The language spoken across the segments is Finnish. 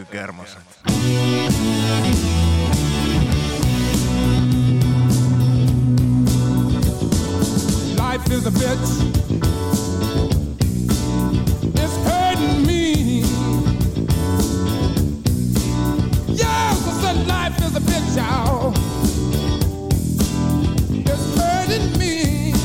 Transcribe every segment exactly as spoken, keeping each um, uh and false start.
Ökykermaset. Life is a bitch. It's hurting me. Yes, I said life is a bitch, y'all. It's hurting me.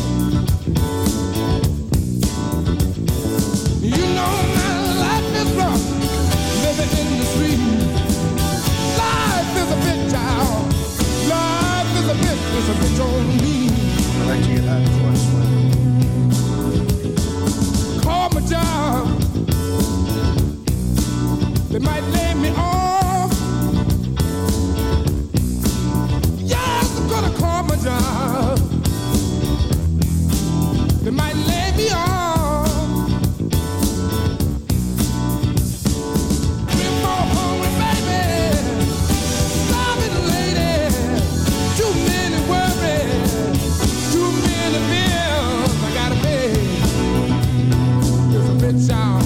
You know my life is rough, living in the street. Life is a bitch, y'all. Life is a bitch, it's a bitch on me. I like to get out before I sweat. Call my job. They might lay me off. Yes, I'm gonna call my job. They might lay me off. We're more hungry, baby. Starving lady. Too many worries. Too many bills I gotta pay. It's a bitch out.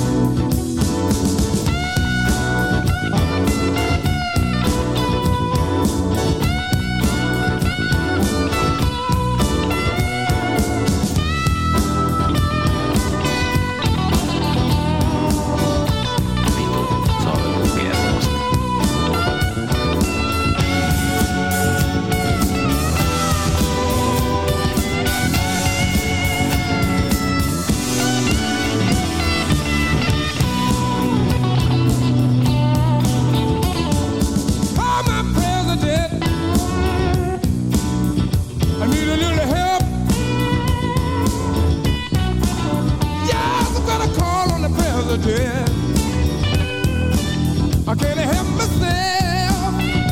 I can't help myself.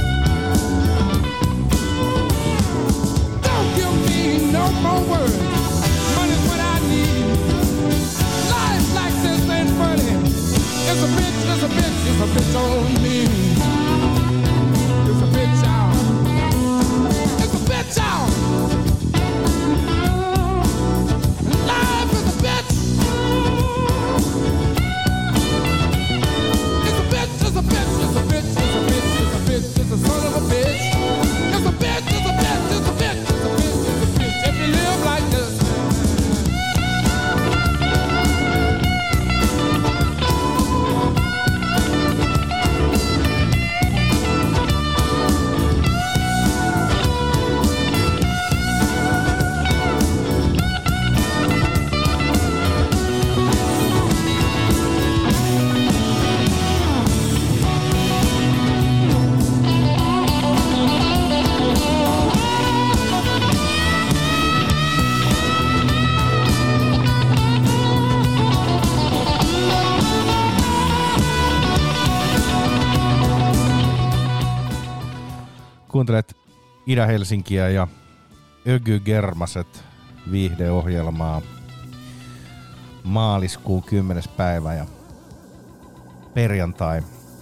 Don't give me no more words. Money's what I need. Life like this ain't funny. It's a bitch, it's a bitch, it's a bitch on me. It's a bitch out. It's a bitch out. Life is a bitch. It's a bitch, it's a bitch, it's a bitch, it's a bitch, it's a bitch, it's a son of a bitch. It's a bitch, it's a bitch, it's a bitch, it's a bitch, it's a bitch. If you live like this. Kuuntelet Ida-Helsinkiä ja Ökygermaset viihdeohjelmaa. Maaliskuun kymmenes päivä ja perjantai.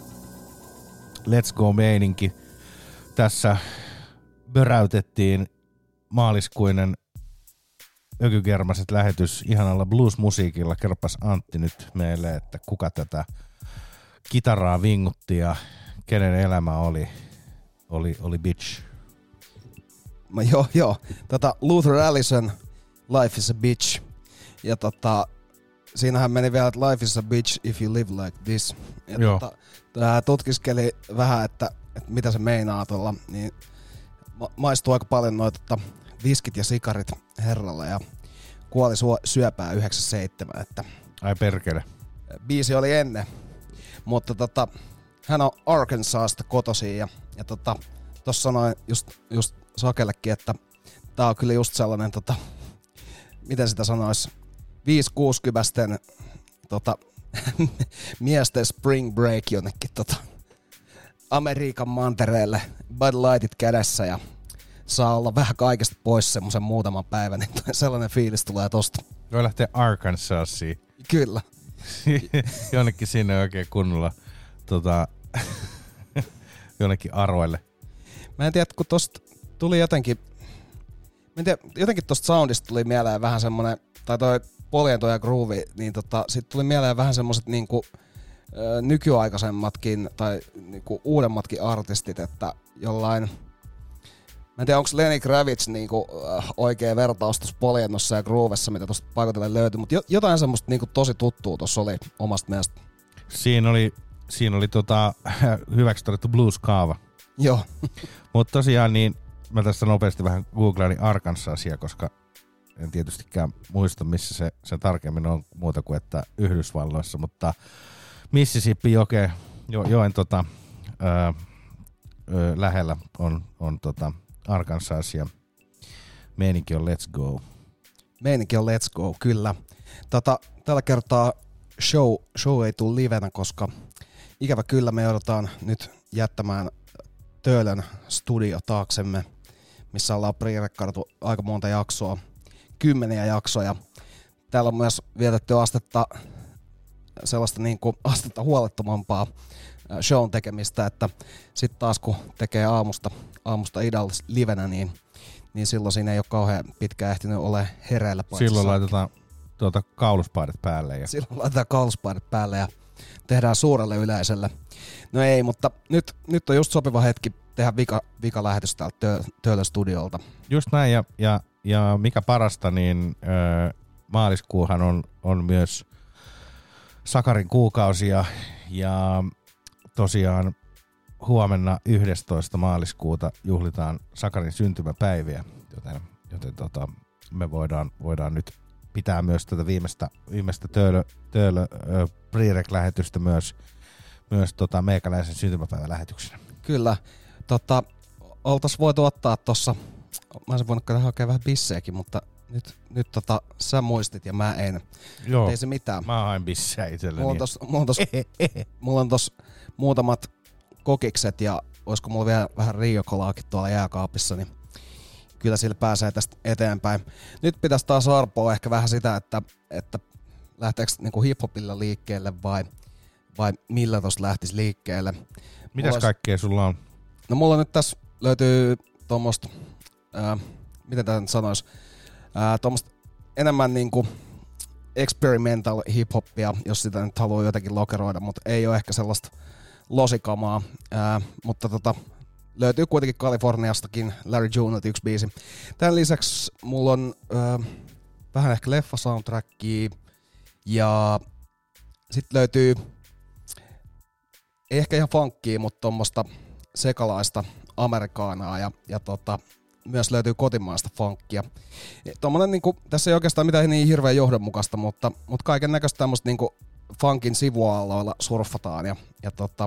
Let's go meininki. Tässä böräytettiin maaliskuinen Ökygermaset lähetys ihanalla blues-musiikilla. Kerropas Antti nyt meille, että kuka tätä kitaraa vingutti ja kenen elämä oli. Oli, oli bitch. Mä, joo, joo. Tota, Luther Allison, Life is a bitch. Ja tota, siinähän meni vielä, että life is a bitch if you live like this. Ja joo. Tota, tää tutkiskeli vähän, että, että mitä se meinaa tuolla. Niin ma- maistuu aika paljon noita tota, viskit ja sikarit herralle ja kuoli suo- syöpää yhdeksänkymmentäseitsemän. Että ai perkele. Biisi oli ennen. Mutta tota, hän on Arkansasista kotoisin ja, ja tota, tossa sanoin just, just Sakellekin, että tää on kyllä just sellainen, tota, miten sitä sanois, viisi kuusikymmentä tota, miesten spring break jonnekin tota, Amerikan mantereelle, Bud Lightit kädessä ja saa olla vähän kaikesta pois semmosen muutaman päivän, niin sellainen fiilis tulee tosta. Voi lähteä Arkansasiin. Kyllä. Jonnekin sinne oikein kunnolla tota, jonnekin aroille. Mä en tiedä, kun tosta tuli jotenkin, mä en tiedä, jotenkin tosta soundista tuli mieleen vähän semmonen, tai toi Poliento ja Groove, niin tota, sit tuli mieleen vähän semmoset niinku ö, nykyaikaisemmatkin tai niinku uudemmatkin artistit, että jollain... Mä en tiedä, onko Lenny Kravitz niinku, äh, oikea vertaus tuossa poljennossa ja groovessa, mitä tuosta paikotellen löytyi, mutta jo, jotain semmoista niinku tosi tuttua tuossa oli omasta mielestä. Siinä oli, siinä oli tota, hyväksi todettu blues-kaava. Joo. Mutta tosiaan niin, mä tässä nopeasti vähän googlailin Arkansasia, koska en tietystikään muista, missä se, se tarkemmin on muuta kuin että Yhdysvalloissa, mutta Mississippi joke, jo, joen tota, ö, ö, lähellä on, on tota Arkansas ja meininki on let's go. Meininki on let's go, kyllä. Tota, tällä kertaa show, show ei tule livenä, koska ikävä kyllä me joudutaan nyt jättämään Töölön studio taaksemme, missä ollaan pre-rekordattu aika monta jaksoa, kymmeniä jaksoja. Täällä on myös vietetty astetta, sellaista niin kuin astetta huolettomampaa shown tekemistä, että sitten taas kun tekee aamusta, aamusta idallis livenä, niin, niin silloin siinä ei ole kauhean pitkään ehtinyt ole hereillä. Silloin laitetaan tuota kauluspaidat päälle. Ja... Silloin laitetaan kauluspaidat päälle ja tehdään suurelle yleisölle. No ei, mutta nyt, nyt on just sopiva hetki tehdä vika, vika lähetys täältä Töölön studiolta. Just näin, ja, ja, ja mikä parasta, niin ö, maaliskuuhan on, on myös Sakarin kuukausi, ja, ja tosiaan huomenna yhdestoista maaliskuuta juhlitaan Sakarin syntymäpäiviä, joten, joten tota, me voidaan, voidaan nyt pitää myös tätä viimeistä, viimeistä Töölö, Töölö ö, pre-rec-lähetystä myös, myös tota meikäläisen syntymäpäivän lähetyksenä. Kyllä. Tota, oltais voitu ottaa tossa, mä olisin voinut hakea vähän bissejäkin, mutta nyt, nyt tota, sä muistit ja mä en. Joo, ei se mitään. Mä hain bissejä itselleni. Mulla on tos, mulla on tos, mulla on tos muutamat kokikset ja olisiko mulla vielä vähän riokolaakin tuolla jääkaapissa, niin kyllä sillä pääsee tästä eteenpäin. Nyt pitäisi taas arpoa ehkä vähän sitä, että, että lähteekö niinku hiphopilla liikkeelle vai, vai millä tosta lähtisi liikkeelle. Mitäs olisi... kaikkea sulla on? No mulla nyt tässä löytyy tuommoista, ää, miten tämä nyt sanoisi, ää, tuommoista enemmän niinku experimental hip-hoppia, jos sitä nyt haluaa jotenkin lokeroida, mutta ei ole ehkä sellaista losikamaa, ää, mutta tota, löytyy kuitenkin Kaliforniastakin Larry Junelta yksi biisi. Tämän lisäksi mulla on ää, vähän ehkä leffa-soundtrackia ja sitten löytyy ei ehkä ihan funkia, mutta tuommoista sekalaista amerikaanaa ja, ja tota, myös löytyy kotimaista funkia. Tommonen, niinku, tässä ei oikeastaan mitään niin hirveän johdonmukaista, mutta, mutta kaiken näköistä tämmöistä niinku funkin sivualoilla surffataan. Ja, ja tota,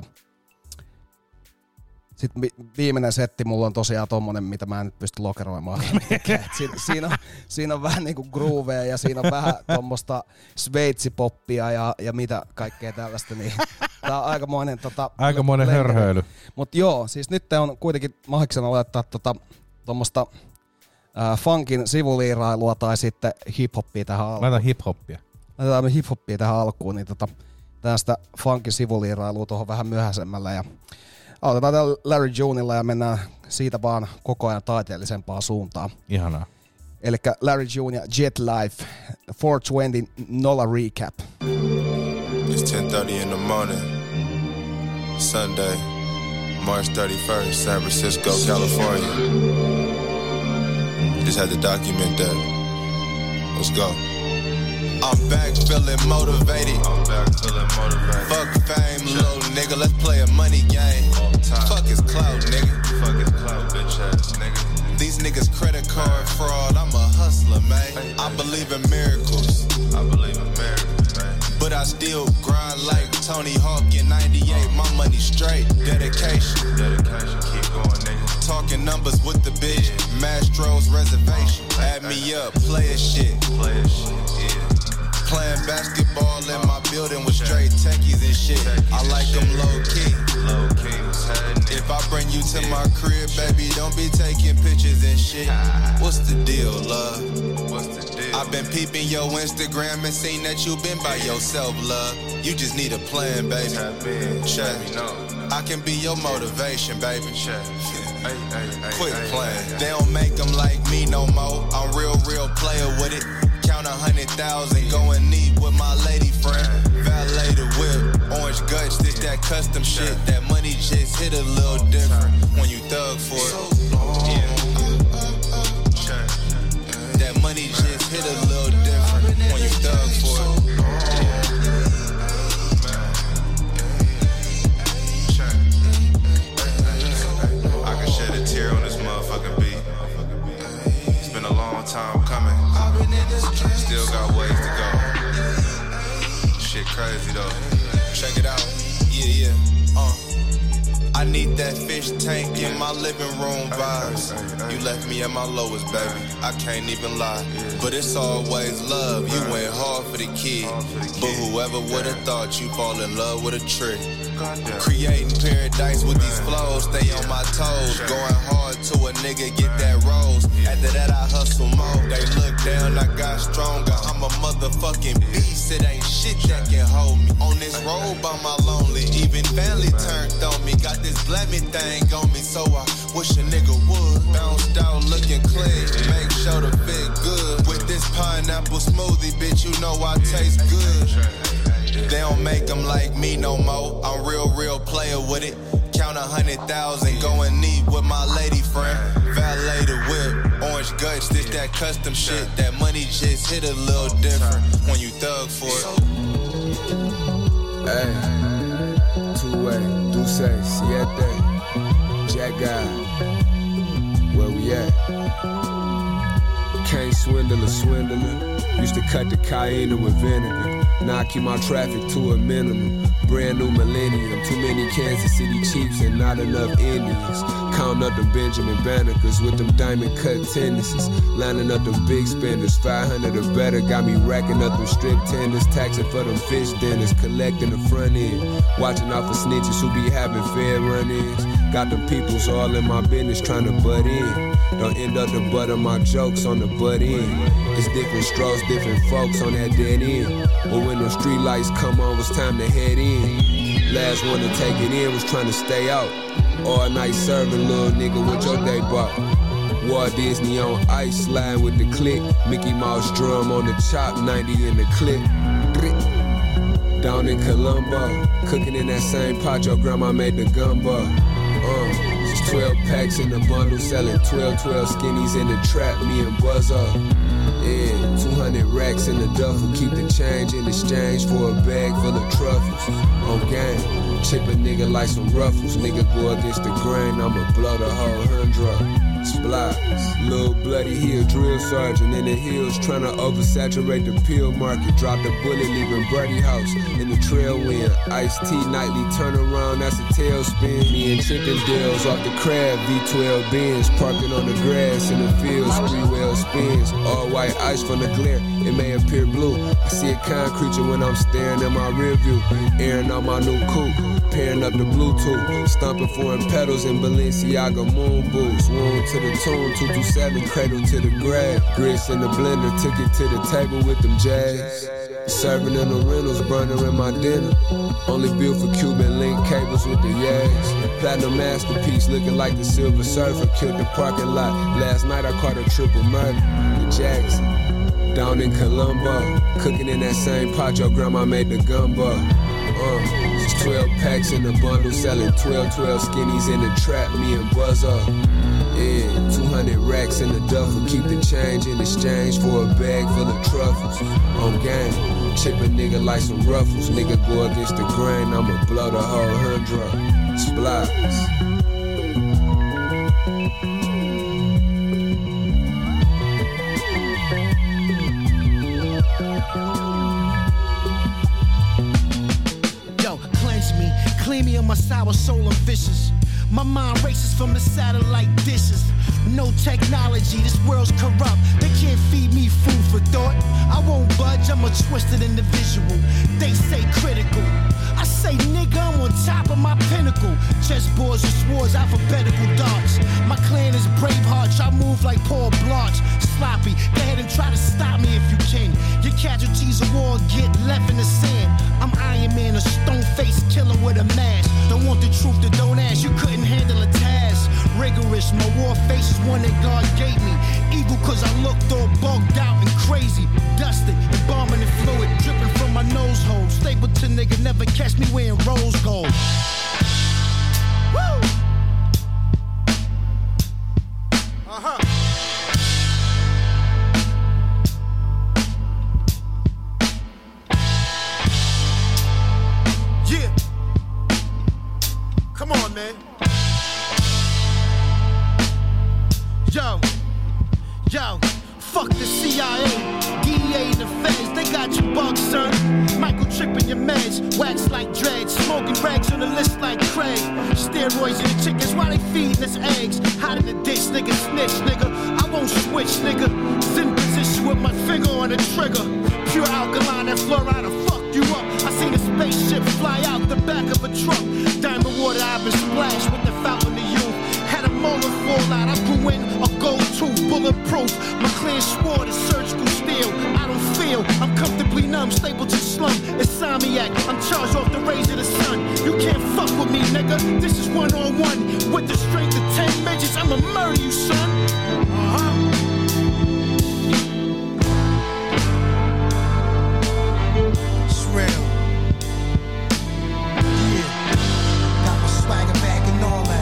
sitten vi- viimeinen setti mulla on tosiaan tommonen, mitä mä en nyt pysty lokeroimaan. siinä, siinä, on, siinä on vähän niinku groovea ja siinä on vähän tommoista sveitsipoppia ja, ja mitä kaikkea tällaista. Niin tää on aikamoinen, tota, aikamoinen hörhöily. Mut joo, siis nyt on kuitenkin mahiksena laittaa tota, tommoista äh, funkin sivuliirailua tai sitten hiphoppia tähän alkuun. Laitan hiphoppia. Laitetaan hiphoppia tähän alkuun, niin tota, tästä funkin sivuliirailua tuohon vähän myöhäisemmällä ja aloitetaan täällä Larry Junella ja mennään siitä vaan koko ajan taiteellisempaan suuntaan. Ihanaa. Elikkä Larry June ja Jet Life, four twenty Nola Recap. It's ten thirty in the morning, Sunday, March thirty-first, San Francisco, California. Just had to document that. Let's go. I'm back feeling motivated. I'm back feeling motivated. Fuck fame, little nigga. Let's play a money game. Fuck his clout, nigga. Fuck his clout, bitch ass nigga. These niggas credit card fraud. I'm a hustler, man. I believe in miracles. I believe in miracles, man. But I still grind like Tony Hawk in ninety-eight. My money straight. Dedication. Dedication. Keep going, nigga. Talking numbers with the bitch. Mastro's reservation. Add me up. Play a shit. Play a shit. Yeah. Playing basketball in my building with straight techies and shit. I like them low key. Low key, what's happening? If I bring you to my crib, baby, don't be taking pictures and shit. What's the deal, love? What's the deal? I've been peeping your Instagram and seen that you been by yourself, love. You just need a plan, baby. Check. I can be your motivation, baby. Check. Quit playing. They don't make them like me no more. I'm real, real player with it. Count a hundred thousand, go and eat with my lady friend. Valet the whip, orange gut that custom shit. That money just hit a little different when you thug for it. Yeah. That money just hit a little different when you thug for it. I can shed a tear on this motherfucking beat. It's been a long time coming. Still got ways to go. Shit crazy though. Check it out. Yeah, yeah. Uh. I need that fish tank in my living room vibes. You left me at my lowest, baby. I can't even lie. But it's always love. You went hard for the kid. But whoever would've thought you fall in love with a trick. Creating paradise with these flows. Stay on my toes. Going hard to a nigga get that rose. After that I hustle more. They look down, I got stronger. I'm a motherfucking beast. It ain't shit that can hold me. On this road by my lonely. Even family turned on me. Got this blammy thing on me, so I wish a nigga would. Bounced out looking clean, make sure to fit good. With this pineapple smoothie, bitch, you know I taste good. They don't make them like me no more. I'm real, real player with it. Count a hundred thousand, going neat with my lady friend. Valet the whip, orange guts, this that custom shit. That money just hit a little different when you thug for it. Hey, two-way, Duce, Siete, Jack God, where we at? Can't swindle a swindler. Used to cut the cayenne with vinegar. Now I keep my traffic to a minimum. Brand new millennium. Too many Kansas City Chiefs and not enough Indians. Counting up them Benjamin Bannekers with them diamond cut tendencies. Lining up them big spenders. five hundred or better. Got me racking up them strip tenders. Taxing for them fish dinners. Collecting the front end. Watching out for snitches who be having fair run-ins. Got them peoples all in my business trying to butt in. Don't end up the butt of my jokes on the butt end. It's different strokes, different folks on that dead end. But when the street lights come on, it's time to head in. Last one to take it in was trying to stay out. All night serving, little nigga, what your day bought? Walt Disney on ice, sliding with the click. Mickey Mouse drum on the chop, ninety in the clip. Down in Colombo, cooking in that same pot your grandma made the gumbo. Uh, it's twelve packs in the bundle, selling twelve, twelve skinnies in the trap, me and Buzz up. Yeah, two hundred racks in the duffel, keep the change in exchange for a bag full of truffles. On game, chip a nigga like some ruffles, nigga go against the grain, I'ma blow the whole hundred. Splies, little bloody heel drill sergeant in the hills, tryna oversaturate the pill market. Drop the bullet, leaving Birdie House in the trail wind. Iced tea nightly, turn around, that's a tailspin. Me and Chippendales off the crab, V twelve Benz, parking on the grass in the fields, three well spins. All white ice from the glare, it may appear blue. I see a concrete when I'm staring in my rear view, airing out my new coupe, pairing up the Bluetooth, stomping foreign pedals in Balenciaga moon boots. Wound to the tune, two two seven, cradle to the grave. Grits in the blender, took it to the table with them jazz. Serving in the rentals, burner in my dinner. Only built for Cuban link cables with the yags. Platinum masterpiece, looking like the Silver Surfer. Killed the parking lot. Last night I caught a triple murder. The Jackson, down in Colombo, cooking in that same pot your grandma made the gumbo. Uh, it's twelve packs in the bundle, selling twelve, twelve skinnies in the trap. Me and Buzz up. Yeah, two hundred racks in the duffel, keep the change in exchange for a bag full of truffles. On game, chip a nigga like some ruffles. Nigga go against the grain, I'ma blow the whole hundred. Splies. Yo, cleanse me, clean me of my sour soul and vicious. My mind races from the satellite dishes. No technology, this world's corrupt. They can't feed me food for thought. I won't budge, I'm a twisted individual. They say critical. I say nigga, I'm on top of my pinnacle. Chessboards and swords, alphabetical darts. My clan is Braveheart, I move like Paul Blanche. Sloppy, go ahead and try to stop me if you can. Your casualties of war get left in the sand. I'm Iron Man, a stone-faced killer with a mask. Don't want the truth, to don't ask, you couldn't handle a task. Rigorous, my war face is one that God gave me. evil cause I looked all bugged out and crazy. Dusted, embalming and fluid dripping from my nose hole. Stapleton nigga never catch me wearing rose gold. Woo! Uh-huh. Yeah. Come on, man. Yo, yo, fuck the C I A, D E A and the feds, they got you bugged, son. Michael tripping your meds, wax like dreads, smoking rags on the list like Craig. Steroids in the chickens, why they feeding us eggs? Hot in the ditch, nigga, snitch, nigga. I won't switch, nigga. Zen position with my finger on the trigger. Pure alkaline and fluoride will fuck you up. I seen a spaceship fly out the back of a truck. Diamond water, I've been splashed with the fountain of youth. Had a molar fall out, I grew in a gold tooth, bulletproof. My clear sword is surgical steel. I don't feel, I'm comfortably numb, stable to slum. Insomniac, I'm charged off the rays of the sun. You can't fuck with me, nigga. This is one on one. With the strength of ten midgets, I'ma murder you, son. Uh-huh. It's real. Yeah. Got my swagger back and all that.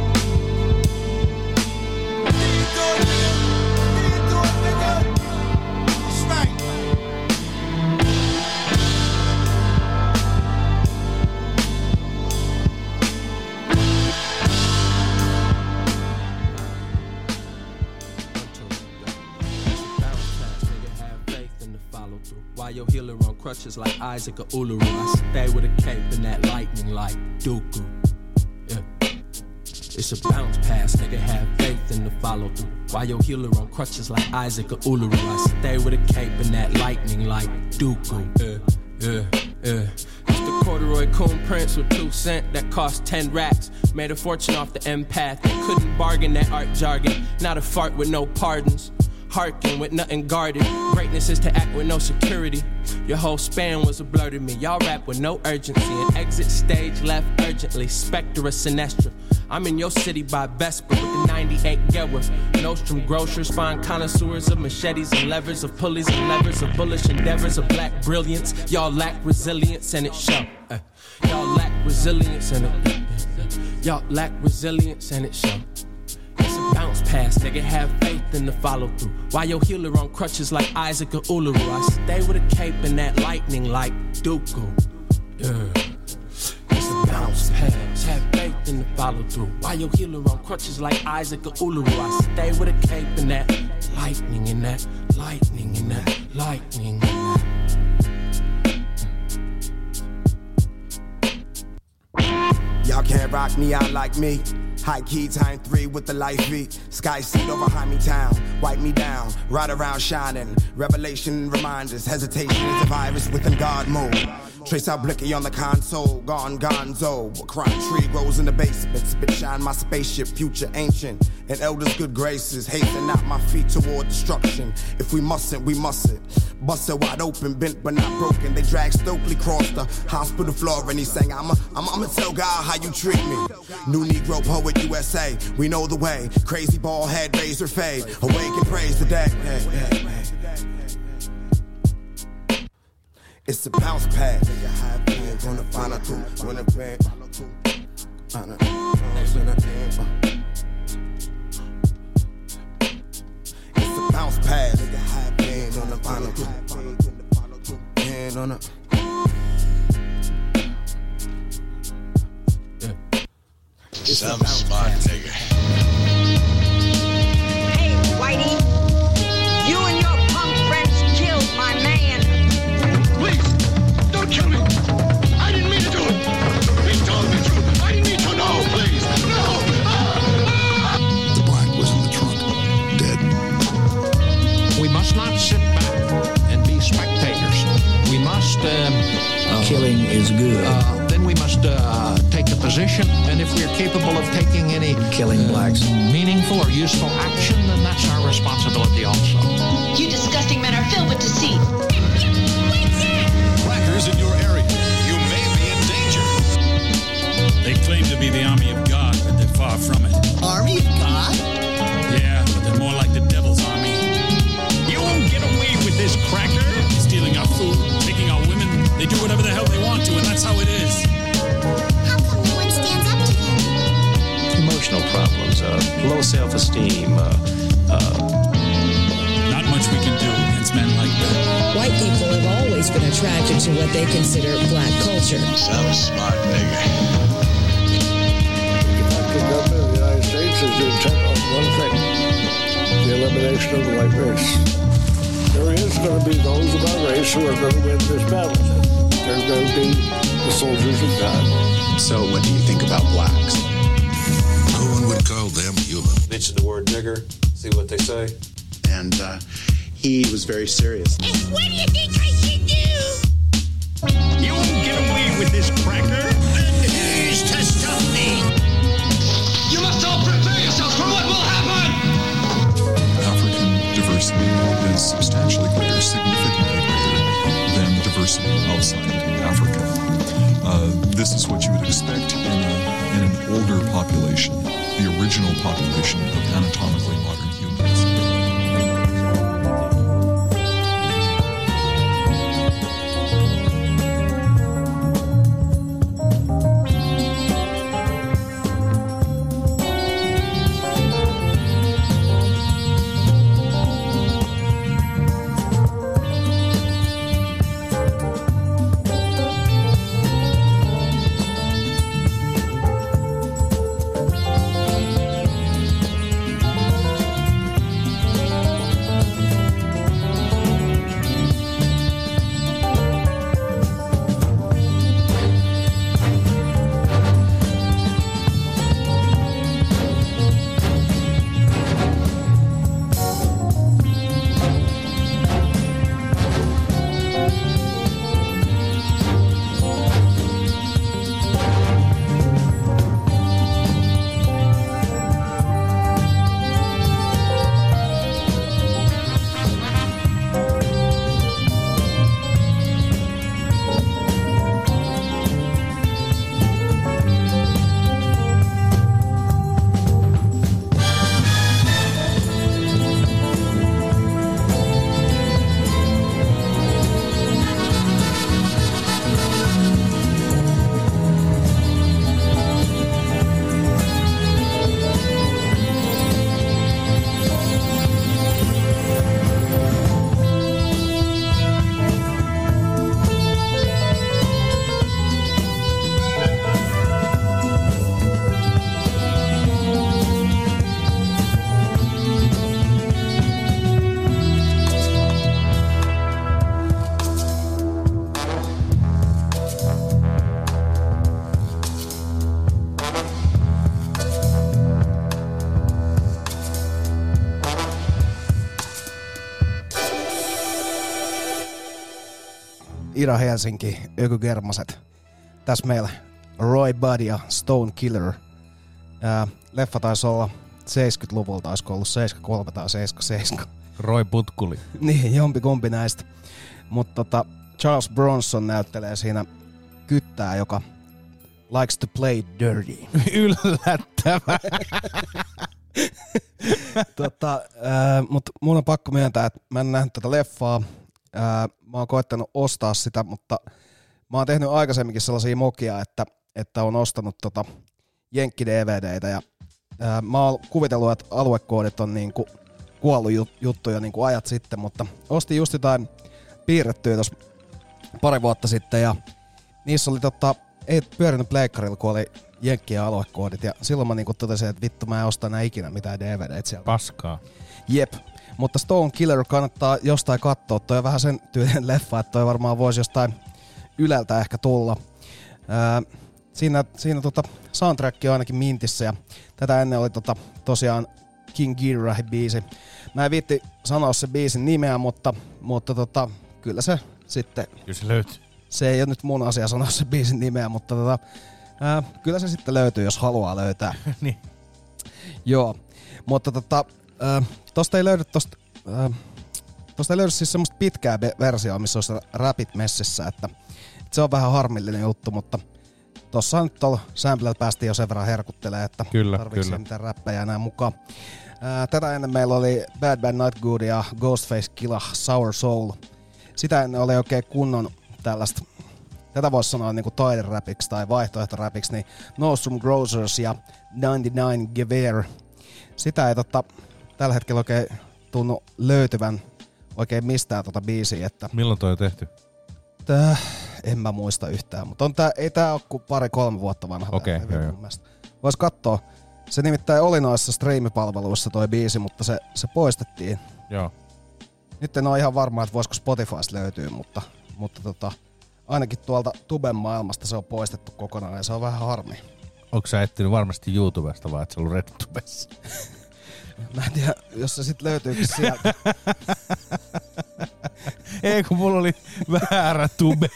Your healer on crutches like Isaac or Uluru. I stay with a cape and that lightning like Dooku. Yeah. It's a bounce pass, nigga, have faith in the follow through. Why your healer on crutches like Isaac or Uluru? I stay with a cape and that lightning like Dooku. Yeah, yeah, yeah. It's the corduroy coon prince with two cent that cost ten racks. Made a fortune off the empath that couldn't bargain that art jargon. Not a fart with no pardons. Harking with nothing guarded. Greatness is to act with no security. Your whole span was a blur to me. Y'all rap with no urgency. And exit stage left urgently. Spectre or Sinestra. I'm in your city by Vesper with the ninety-eight Gewer. Nostrum grocers find connoisseurs of machetes and levers, of pulleys and levers, of bullish endeavors, of black brilliance. Y'all lack resilience and it show. Uh, y'all lack resilience and it. Uh, y'all lack resilience and it show. Bounce pass, nigga, have faith in the follow through. Why your healer on crutches like Isaac or Uluru? I stay with a cape and that lightning like Dooku. Yeah. It's a bounce pass, have faith in the follow through. Why your healer on crutches like Isaac or Uluru? I stay with a cape and that lightning and that lightning and that lightning and that. Y'all can't rock me out like me. High key, time three with the life beat. Sky seat over Jaime Town. Wipe me down, ride around shining. Revelation reminders, hesitation is a virus within God mode. Trace out Blicky on the console, gone gonzo. A crime tree grows in the basement. Spit shine my spaceship, future ancient. And elders' good graces, hasten out my feet toward destruction. If we mustn't, we mustn't. Busted wide open, bent but not broken. They dragged Stokely across the hospital floor and he sang, I'ma, I'ma, I'ma tell God how you treat me. New Negro poet U S A, we know the way. Crazy bald head, razor fade. Awake and praise the day. Hey, hey, hey. It's a bounce pad. Nigga, high pants on the final two. When the band, final It's a bounce pad. Nigga, high pants on the final two. Hand on the. Some smart nigga. Hey, Whitey, you and your punk friends killed my man. Please, don't kill me. I didn't mean to do it. He told the truth. I didn't mean to know, please. No. The black was in the trunk, dead. We must not sit back and be spectators. We must... Um, uh, Killing is good. Uh, then we must uh, take a position, and if we're capable of taking any... Killing uh, blacks. ...meaningful or useful action, then that's our responsibility also. You disgusting men are filled with deceit. Blackers in your area, you may be in danger. They claim to be the army of God, but they're far from it. Army of God? Yeah, but they're more like the devil's army. self-esteem. Uh, uh, Not much we can do against men like that. White people have always been attracted to what they consider black culture. Some smart nigga. The government of the United States is intent on one thing, the elimination of the white race. There is going to be those of our race who are going to win this battle. They're going to be the soldiers of God. so what do you think about blacks? No one would call them human. Mention the word nigger, see what they say. And uh, he was very serious. And what do you think I should do? You won't get away with this, cracker. And who's to stop me? You must all prepare yourselves for what will happen! African diversity is substantially greater, significantly greater than diversity outside Africa. Uh, this is what you would expect in, a, in an older population, the original population of anatomically modern humans. Ida Helsinki, Ökygermaset. Tässä meillä Roy Buddy ja Stone Killer. Ää, leffa taisi olla seitsemänkymmentäluvulta, olisiko ollut seitsemänkymmentäkolme tai seitsemänkymmentäseitsemän. Roy Putkuli. Niin, jompikumpi näistä. Mutta tota, Charles Bronson näyttelee siinä kyttää, joka likes to play dirty. Yllättävää. tota, mutta mun on pakko myöntää, että mä en nähnyt tätä leffaa. Ää, mä oon koettanut ostaa sitä, mutta mä oon tehnyt aikaisemminkin sellaisia mokia, että, että on ostanut tota Jenkki-D V D:itä ja ää, mä oon kuvitellut, että aluekoodit on niinku kuollut jut- juttuja niinku ajat sitten, mutta ostin just jotain piirrettyä tuossa pari vuotta sitten ja niissä oli tota, ei pyörinyt pleikkarilla, kun oli Jenkkien aluekoodit ja silloin mä niinku totesin, että vittu mä en osta enää ikinä mitään D V D:itä sieltä. Paskaa. Jep. Mutta Stone Killer kannattaa jostain katsoa. Toi on vähän sen tyylinen leffa, että toi varmaan voisi jostain Yleltä ehkä tulla. Ää, siinä siinä tota soundtrack on ainakin mintissä ja tätä ennen oli tota, tosiaan King Ghidorah biisi. Mä en viitti sanoa se biisin nimeä, mutta, mutta tota, kyllä se sitten... Kyllä se löytyy. Se ei ole nyt mun asia sanoa se biisin nimeä, mutta tota, ää, kyllä se sitten löytyy, jos haluaa löytää. Niin. Joo, mutta tota... Äh, tosta ei löydy tosta, äh, tosta ei löydy siis semmoista pitkää be- versioa, missä olisi räpit messissä, että, että se on vähän harmillinen juttu, mutta tossa nyt tuolla samplella päästiin jo sen verran herkuttelemaan, että kyllä, tarvitsee kyllä. mitään räppejä enää mukaan. Äh, tätä ennen meillä oli Bad Bad Not Good ja Ghostface Killah Sour Soul. Sitä ennen oli oikein kunnon tällaista, tätä voisi sanoa niinku taideräpiksi tai vaihtoehtoräpiksi, niin Nostrum Grocers ja ninety-nine Gewehr. sitä ei tota, tällä hetkellä oikein tunnu löytyvän oikein mistään tota biisiä. Että milloin toi on tehty? Tää, en mä muista yhtään, mutta on tää, ei tää ole kuin pari-kolme vuotta vanha. Okei, okay, joo, joo. Vois kattoo. Se nimittäin oli noissa striimipalveluissa toi biisi, mutta se, se poistettiin. Joo. Nyt en ole ihan varma, että voisiko Spotifysta löytyy, mutta, mutta tota, ainakin tuolta tuben maailmasta se on poistettu kokonaan ja se on vähän harmi. Onko sä etsinyt varmasti YouTubesta vai et sä ollut RedTubessa? Mä en tiedä, jos se sit löytyykin sieltä. Ei kun mulla oli väärä tube.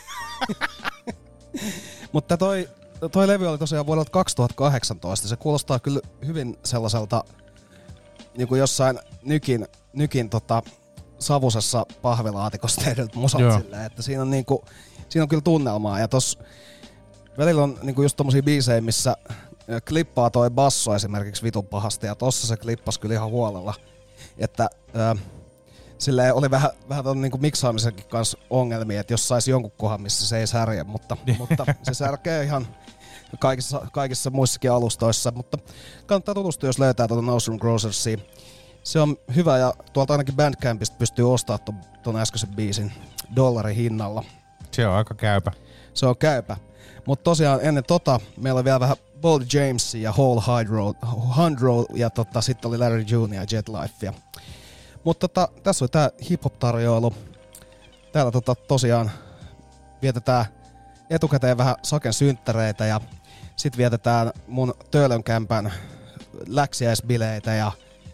Mutta toi, toi levy oli tosiaan vuodelta kaksituhattakahdeksantoista. Se kuulostaa kyllä hyvin sellaiselta niin kuin jossain nykin, nykin tota, savusessa pahvilaatikossa tehdyt musat silleen, että siinä on, niinku, siinä on kyllä tunnelmaa. Ja tossa välillä on niinku just tommosia biisejä, missä klippaa toi basso esimerkiksi vitun pahasti, ja tossa se klippasi kyllä ihan huolella. Että ö, silleen oli vähän, vähän ton niinku miksaamisenkin kanssa ongelmia, että jos sais jonkun kohan, missä se ei särje, mutta, mutta se särkee ihan kaikissa, kaikissa muissakin alustoissa. Mutta kannattaa tutustua, jos löytää tuota Nose Room Grocersia. Se on hyvä ja tuolta ainakin Bandcampista pystyy ostamaan ton, ton äskeisen biisin dollarin hinnalla. Se on aika käypä. Se on käypä. Mutta tosiaan ennen tota meillä oli vielä vähän Boldy Jamesia ja Whole Hydro, Hundro ja tota, sitten oli Larry Junior ja Jet Lifea. Mutta tota, tässä oli tää hip-hop-tarjoilu. Täällä tota, tosiaan vietetään etukäteen vähän Saken synttäreitä ja sit vietetään mun Töölönkämpän läksiäisbileitä ja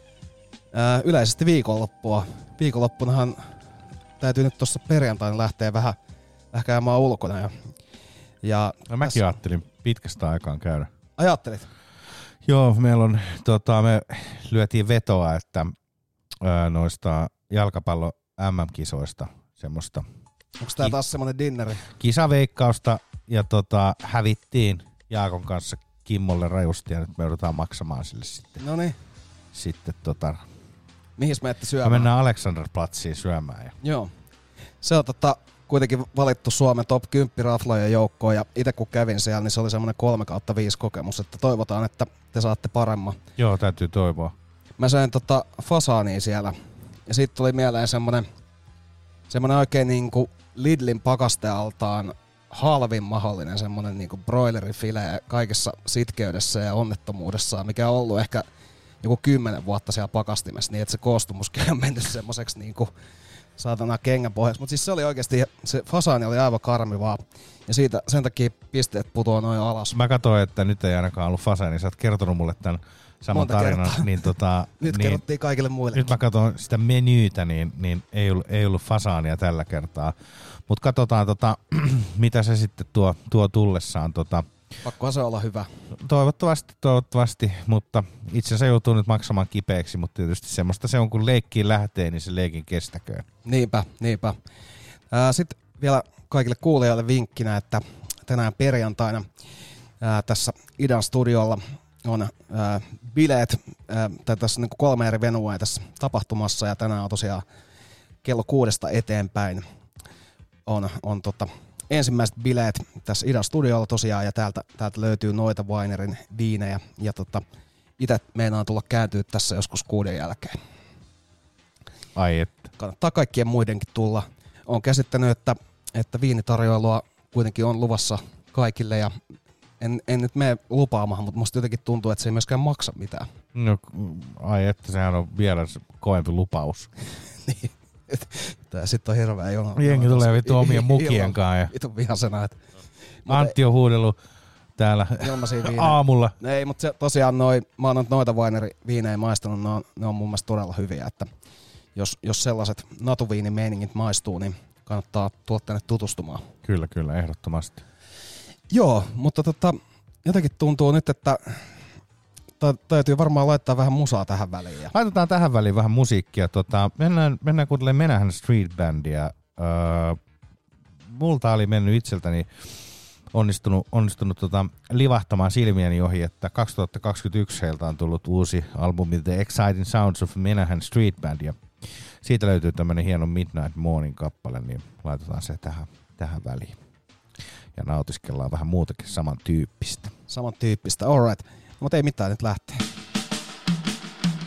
ää, yleisesti viikonloppua. Viikonloppunahan täytyy nyt tossa perjantaina lähteä vähän, vähän käymään ulkona. Ja, ja no, mäkin tässä ajattelin pitkästä aikaan käydä. Ajattelit? Joo, meillä on, tota, me lyötiin vetoa, että ää, noista jalkapallo M M-kisoista semmoista. Onko tää taas semmonen dinneri? Kisaveikkausta ja tota, hävittiin Jaakon kanssa Kimmolle rajusti ja nyt me joudutaan maksamaan sille sitten. Noniin. Sitten tota... Mihin me ette syömään? Me mennään Alexanderplatziin syömään. Ja... Joo. Se on tota, kuitenkin valittu Suomen top kymmenen raflojen joukkoon ja itse kun kävin siellä, niin se oli semmoinen kolme kautta viisi kokemus, että toivotaan, että te saatte paremman. Joo, täytyy toivoa. Mä söin tota fasaania siellä ja siitä tuli mieleen semmonen, semmonen oikein niinku Lidlin pakastealtaan halvin mahdollinen semmonen niinku broilerifile kaikessa sitkeydessä ja onnettomuudessaan, mikä on ollut ehkä joku kymmenen vuotta siellä pakastimessa, niin että se koostumuskin on mennyt semmoiseksi niinku saatana kengän pohjaksi. Mutta siis se oli oikeasti, se fasaani oli aivan karmivaa ja siitä sen takia pisteet putoaa noin alas. Mä katsoin, että nyt ei ainakaan ollut fasaani, sä oot kertonut mulle tämän saman Monta tarinan. Niin tota, nyt niin, kerrottiin kaikille muille. Nyt mä katson sitä menyytä, niin, niin ei, ollut, ei ollut fasaania tällä kertaa. Mutta katsotaan, tota, mitä se sitten tuo, tuo tullessaan. Tota, Pakkohan se olla hyvä. Toivottavasti, toivottavasti, mutta itse asiassa joutuu nyt maksamaan kipeäksi, mutta tietysti semmoista se on, kun leikkiin lähtee, niin se leikin kestäköön. Niinpä, niinpä. Ää, sitten vielä kaikille kuulijoille vinkkinä, että tänään perjantaina ää, tässä Idan studiolla on ää, bileet, ää, tai tässä niin kuin kolme eri venua tässä tapahtumassa, ja tänään on tosiaan kello kuudesta eteenpäin on, on tota, ensimmäiset bileet tässä Idan studiolla tosiaan, ja täältä, täältä löytyy noita Winerin viinejä, ja tota, itse meinaan tulla kääntyä tässä joskus kuuden jälkeen. Ai että. Kannattaa kaikkien muidenkin tulla. Olen käsittänyt, että, että viinitarjoilua kuitenkin on luvassa kaikille, ja en, en nyt mene lupaamaan, mutta musta jotenkin tuntuu, että se ei myöskään maksa mitään. No, ai että, sehän on vielä kovempi lupaus. Niin. Tää sit on hirveä jono. Jengi tulee vittu omien mukien kanssa. Vittu vihasena. Antti on huudellut täällä aamulla. Ei, mutta se, tosiaan noi, mä oon noita Winery-viinejä maistanut, ne on, ne on mun mielestä todella hyviä. Että jos, jos sellaiset natuviinimeiningit maistuu, niin kannattaa tulla tänne tutustumaan. Kyllä, kyllä, ehdottomasti. Joo, mutta tota, jotenkin tuntuu nyt, että täytyy varmaan laittaa vähän musaa tähän väliin. Ja... Laitetaan tähän väliin vähän musiikkia. Tota, mennään, mennään kuuntelemaan Menahan Street Bandia. Öö, multa oli mennyt itseltäni onnistunut, onnistunut tota, livahtamaan silmieni ohi, että kaksituhattakaksikymmentäyksi heiltä on tullut uusi albumi The Exciting Sounds of Menahan Street Band. Ja siitä löytyy tämmönen hieno Midnight Morning kappale, niin laitetaan se tähän, tähän väliin. Ja nautiskellaan vähän muutakin samantyyppistä. Samantyyppistä, alright. Mutta ei mitään, nyt lähtee.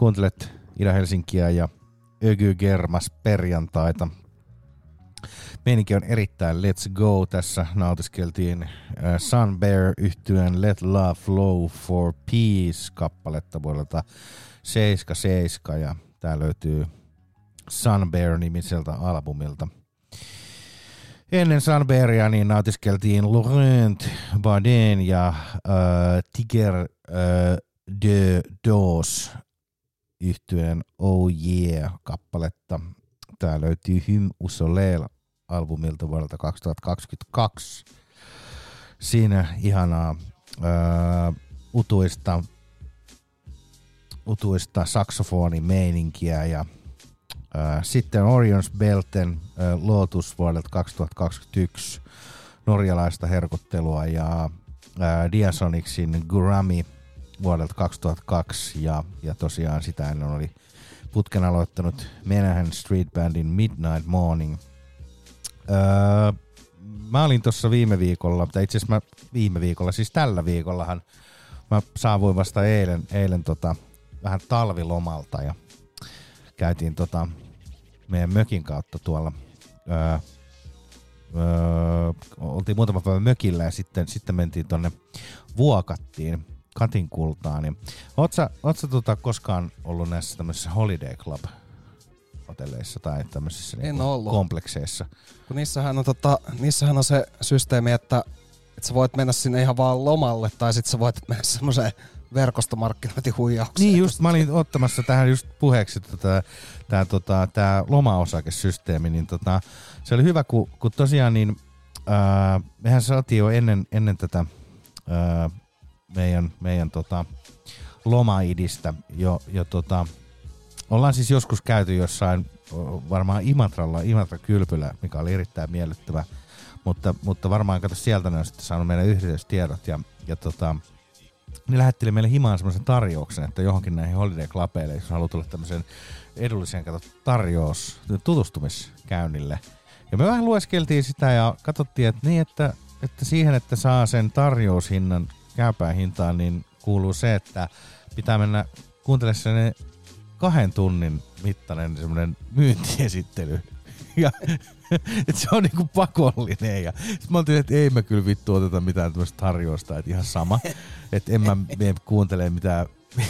kuuntelet Ida-Helsinkiä ja Ögy Germas perjantaita. Meininki on erittäin let's go. Tässä nautiskeltiin Sun Bear yhtyeen Let Love Flow for Peace-kappaletta vuodelta seitsemänkymmentäseitsemän ja tää löytyy Sun Bear-nimiseltä albumilta. Ennen Sun Bearia niin nautiskeltiin Laurent Baden ja äh, Tiger äh, de Dos yhtyeen Oh Yeah-kappaletta. Tää löytyy Hymn au Soleil albumilta vuodelta kaksituhattakaksikymmentäkaksi. Siinä ihanaa ää, utuista, utuista saksofonimeininkiä ja ää, sitten Orion's Belten ää, Lotus vuodelta kaksituhattakaksikymmentäyksi norjalaista herkuttelua ja ää, Diasonicsin Gurami vuodelta kaksituhattakaksi ja, ja tosiaan sitä ennen oli putken aloittanut Menahan Street Bandin Midnight Morning. Öö, mä olin tuossa viime viikolla, tai itse asiassa mä viime viikolla, siis tällä viikollahan mä saavuin vasta eilen, eilen tota, vähän talvilomalta ja käytiin tota meidän mökin kautta tuolla. Öö, öö, oltiin muutama päivä mökillä ja sitten, sitten mentiin tonne Vuokattiin. Katinkultaan. Niin. Oot sä, oot sä tota koskaan ollut näissä tämmöisissä Holiday Club hotelleissa tai tämmöisissä niinku komplekseissa? Kun niissähän on, tota, niissähän on se systeemi, että, että sä voit mennä sinne ihan vaan lomalle tai sit sä voit mennä semmoiseen verkostomarkkinointihuijaukseen. Niin just, mä olin ottamassa tähän just puheeksi tota, tää, tota, tää loma-osakesysteemi, niin tota, se oli hyvä, kun, kun tosiaan niin ää, mehän saatiin jo ennen, ennen tätä ää, meidän, meidän tota, lomaidistä jo, jo tota, ollaan siis joskus käyty jossain varmaan Imatralla, Imatra-kylpylä, mikä oli erittäin miellyttävä, mutta, mutta varmaan kato sieltä ne on sitten saanut meidän yhteystiedot ja, ja tota, ne lähetteli meille himaan semmoisen tarjouksen, että johonkin näihin Holiday Clubeille, jos haluaa tulla tämmöisen edullisen kato, tarjous tutustumiskäynnille. Ja me vähän lueskeltiin sitä ja katsottiin, että niin, että, että siihen, että saa sen tarjoushinnan käypään hintaan, niin kuuluu se, että pitää mennä kuuntelemaan sellainen kahden tunnin mittainen semmoinen myyntiesittely. Ja että se on niinku pakollinen. Ja sit mä oltiin, että ei mä kyllä vittu oteta mitään tämmöistä tarjousta, että ihan sama. Että en mä mene kuuntelemaan mitään,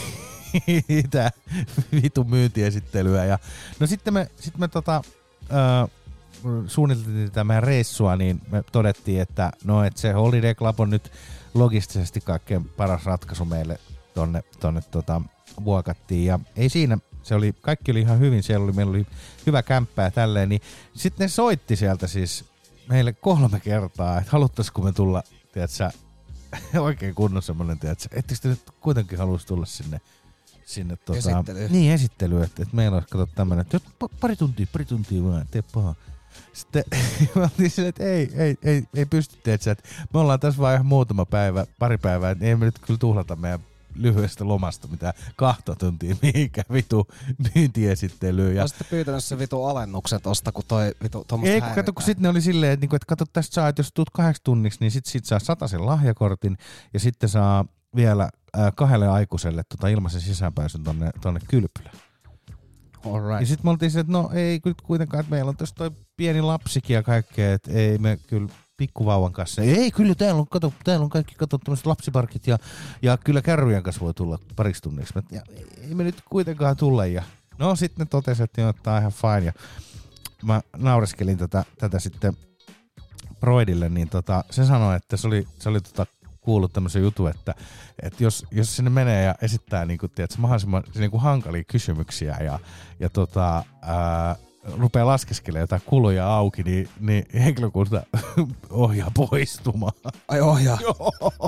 mitään vitun myyntiesittelyä. Ja no sitten me, sit me tota, äh, suunniteltiin tätä meidän reissua, niin me todettiin, että no, että se Holiday Club on nyt logistisesti kaikkein paras ratkaisu meille tonne, tonne tota, Vuokattiin. Ja ei siinä, se oli, kaikki oli ihan hyvin, siellä oli, meillä oli hyvä kämppää tälleen, niin sitten ne soitti sieltä siis meille kolme kertaa, että haluttaisiko me tulla, tiedätkö, oikein kunnon semmoinen, tiedätkö, ettekö te nyt kuitenkin haluaisi tulla sinne, sinne tota, esittelyyn. Niin, esittelyyn, että, että meillä olisi kato tämmöinen, että pari tuntia, pari tuntia vaan, tee paha. Sitten me oltiin silleen, että ei, ei, ei, ei pysty, tiedätkö, että me ollaan tässä vaan ihan muutama päivä, pari päivää, että ei me nyt kyllä tuhlata meidän lyhyestä lomasta mitään kahta tuntia mihinkään vitu myyntiesittelyyn. Ja sitten pyytänyt se vitu alennuksen tosta, kun toi vitu tommoista ei, kun kato, kun sitten ne oli silleen, että, että kato tästä saa, että jos tuut kahdeksi tunniksi, niin sit, sit saa sataisen lahjakortin ja sitten saa vielä äh, kahdelle aikuiselle tota ilmaisen sisäänpääsyn tonne, tonne kylpylään. Alright. Ja sitten me oltiin se, että no ei kyllä kuitenkaan, että meillä on tässä toi pieni lapsikin ja kaikkea, että ei me kyllä pikkuvauvan kanssa. Ei, kyllä täällä on, kato, täällä on kaikki kato tämmöiset lapsiparkit ja, ja kyllä kärryjen kanssa voi tulla pariksi tunniksi. Ja ei me nyt kuitenkaan tulla. Ja no sitten ne totesi, että joo, tää on ihan fine. Ja mä naureskelin tätä, tätä sitten Broidille, niin tota, se sanoi, että se oli, se oli tota kuullut tämmöisen jutun, että, että jos, jos sinne menee ja esittää niin kuin, tiedätkö, mahdollisimman niin kuin hankalia kysymyksiä ja, ja tota, ää, rupeaa laskeskelemaan jotain kuluja auki, niin, niin henkilökunta ohjaa poistumaan. Ai ohjaa? Joo.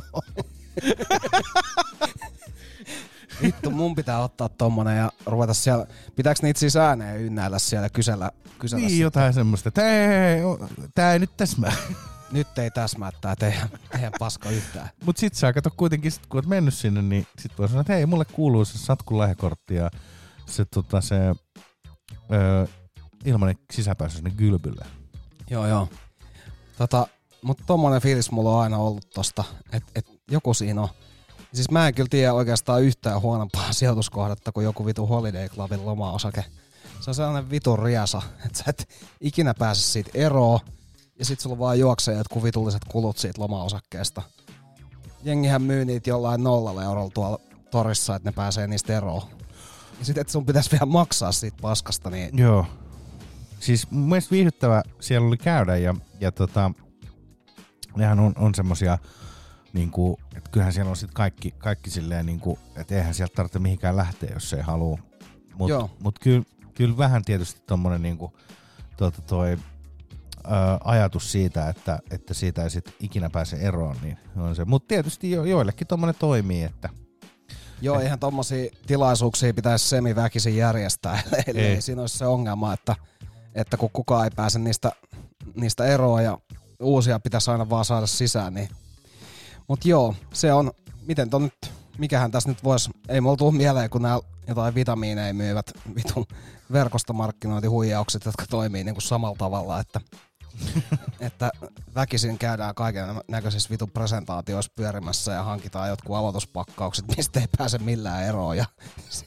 Vittu, mun pitää ottaa tommonen ja ruveta siellä, pitääkö niitä siis ääneen ynnäillä siellä kysellä? kysellä niin, sitä? Jotain semmoista, että ei, tää ei nyt täsmää. Nyt ei täsmää tää teidän, teidän paska yhtään. Mut sit sä kato kuitenkin, sit kun oot mennyt sinne, niin sit voi sanoa, että hei, mulle kuuluu se Satkun lahjakortti ja se, tota, se öö, ilmanen sisäpääsy sinne kylpylle. Joo, joo. Tota, mut tommonen fiilis mulla on aina ollut tosta, että et joku siinä on. Siis mä en kyllä tiedä oikeastaan yhtään huonompaa sijoituskohdetta kuin joku vitu Holiday Clubin loma-osake. Se on sellainen vitun riasa, että sä et ikinä pääse siitä eroon, ja sit sulla vaan juoksee jotkut vitulliset kulut siitä loma-osakkeesta. Jengihän myy niitä jollain nollalla eurolla tuolla torissa, että ne pääsee niistä eroon. Ja sit et sun pitäisi vielä maksaa siitä paskasta. Niin... Joo. Siis mun mielestä viihdyttävä siellä oli käydä, ja, ja tota, nehän on, on semmosia, niinku, että kyllähän siellä on sit kaikki, kaikki silleen, niinku, että eihän sieltä tarvitse mihinkään lähteä, jos ei halua. Mutta mut kyllä kyl vähän tietysti tommonen niinku, tuota, toi, ää, ajatus siitä, että, että siitä ei sit ikinä pääse eroon, niin on se. Mutta tietysti jo, joillekin tommonen toimii, että... Joo, eihän tommosia tilaisuuksia pitäisi semiväkisin järjestää, eli ei. ei siinä olisi se ongelma, että, että kun kukaan ei pääse niistä, niistä eroon ja uusia pitäisi aina vaan saada sisään, niin... Mut joo, se on, miten ton nyt, mikähän tässä nyt vois, ei mulla tuu mieleen, kun nämä jotain vitamiineja myyvät vitun verkostomarkkinointihuijaukset, jotka toimii niinku samalla tavalla, että, että väkisin käydään kaiken näköisissä vitun presentaatioissa pyörimässä ja hankitaan jotkut aloituspakkaukset, mistä ei pääse millään eroon. Ja,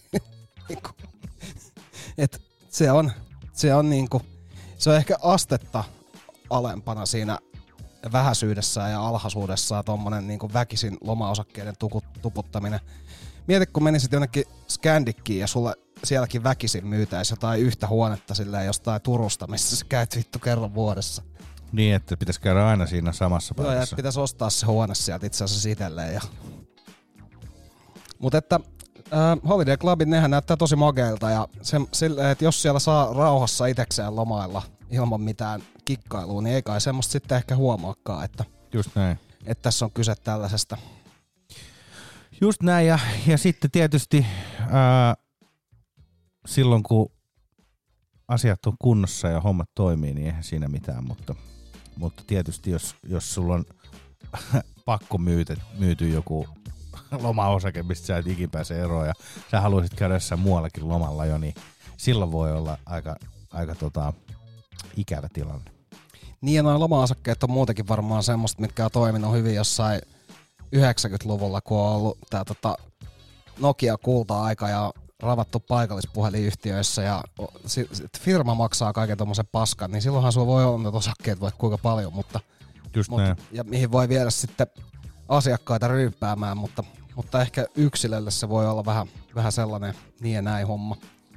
et se on, se on niinku, se on ehkä astetta alempana siinä vähäisyydessään ja alhaisuudessaan tommonen niinku väkisin lomaosakkeiden tuku, tuputtaminen. Mieti, kun menisit jonnekin Scandickiin ja sulle sielläkin väkisin myytäisi jotain yhtä huonetta silleen jostain Turusta, missä sä käyt vittu kerran vuodessa. Niin, että pitäisi käydä aina siinä samassa paikassa. Joo, ja pitäisi ostaa se huone sieltä itse asiassa itselleen. Ja... Mutta että äh, Holiday Clubit, nehän näyttää tosi mageilta ja se, sille, että jos siellä saa rauhassa itekseen lomailla ilman mitään kikkailua, niin ei kai semmoista sitten ehkä huomaakaan, että, just näin. Että tässä on kyse tällaisesta. Just näin, ja, ja sitten tietysti ää, silloin kun asiat on kunnossa ja hommat toimii, niin eihän siinä mitään, mutta, mutta tietysti jos, jos sulla on pakko myyty, myyty joku lomaosake, mistä sä et ikin pääse eroon ja sä haluaisit käydä jossain muuallakin lomalla jo, niin silloin voi olla aika, aika tota, ikävä tilanne. Niin ja nuo loma-osakkeet on muutenkin varmaan semmoista, mitkä on toiminut hyvin jossain yhdeksänkymmentäluvulla, kun on ollut tää tota Nokia kulta-aika ja ravattu paikallispuhelinyhtiöissä ja firma maksaa kaiken tommosen paskan, niin silloinhan sulla voi olla näitä osakkeet vaikka kuinka paljon, mutta, mutta ja mihin voi viedä sitten asiakkaita ryyppäämään, mutta, mutta ehkä yksilölle se voi olla vähän, vähän sellainen niin ja näin homma.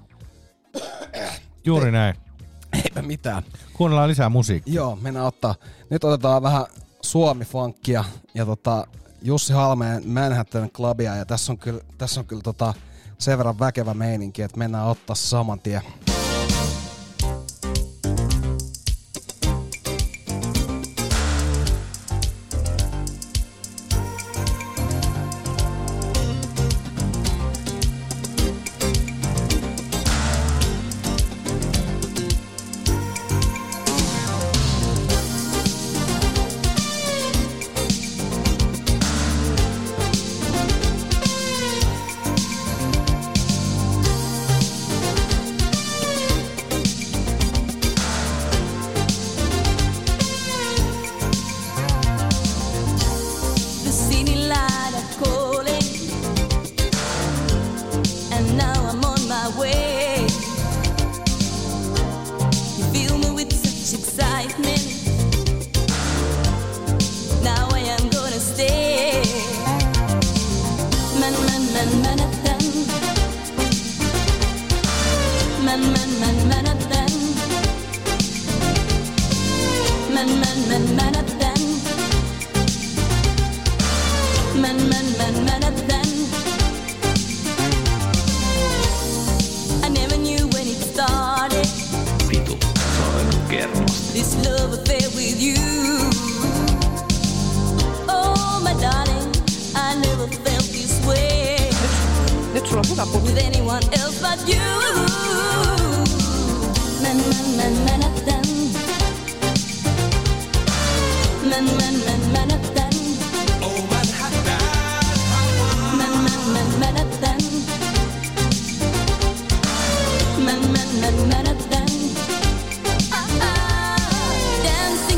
Juuri Ei, näin. Eipä mitään. Kuunnellaan lisää musiikkia. Joo, mennään ottaa. Nyt otetaan vähän Suomi-funkia ja tota Jussi Halmeen Manhattan Clubia ja tässä on kyllä, tässä on kyllä tota sen verran väkevä meininki, että mennään ottaa saman tien.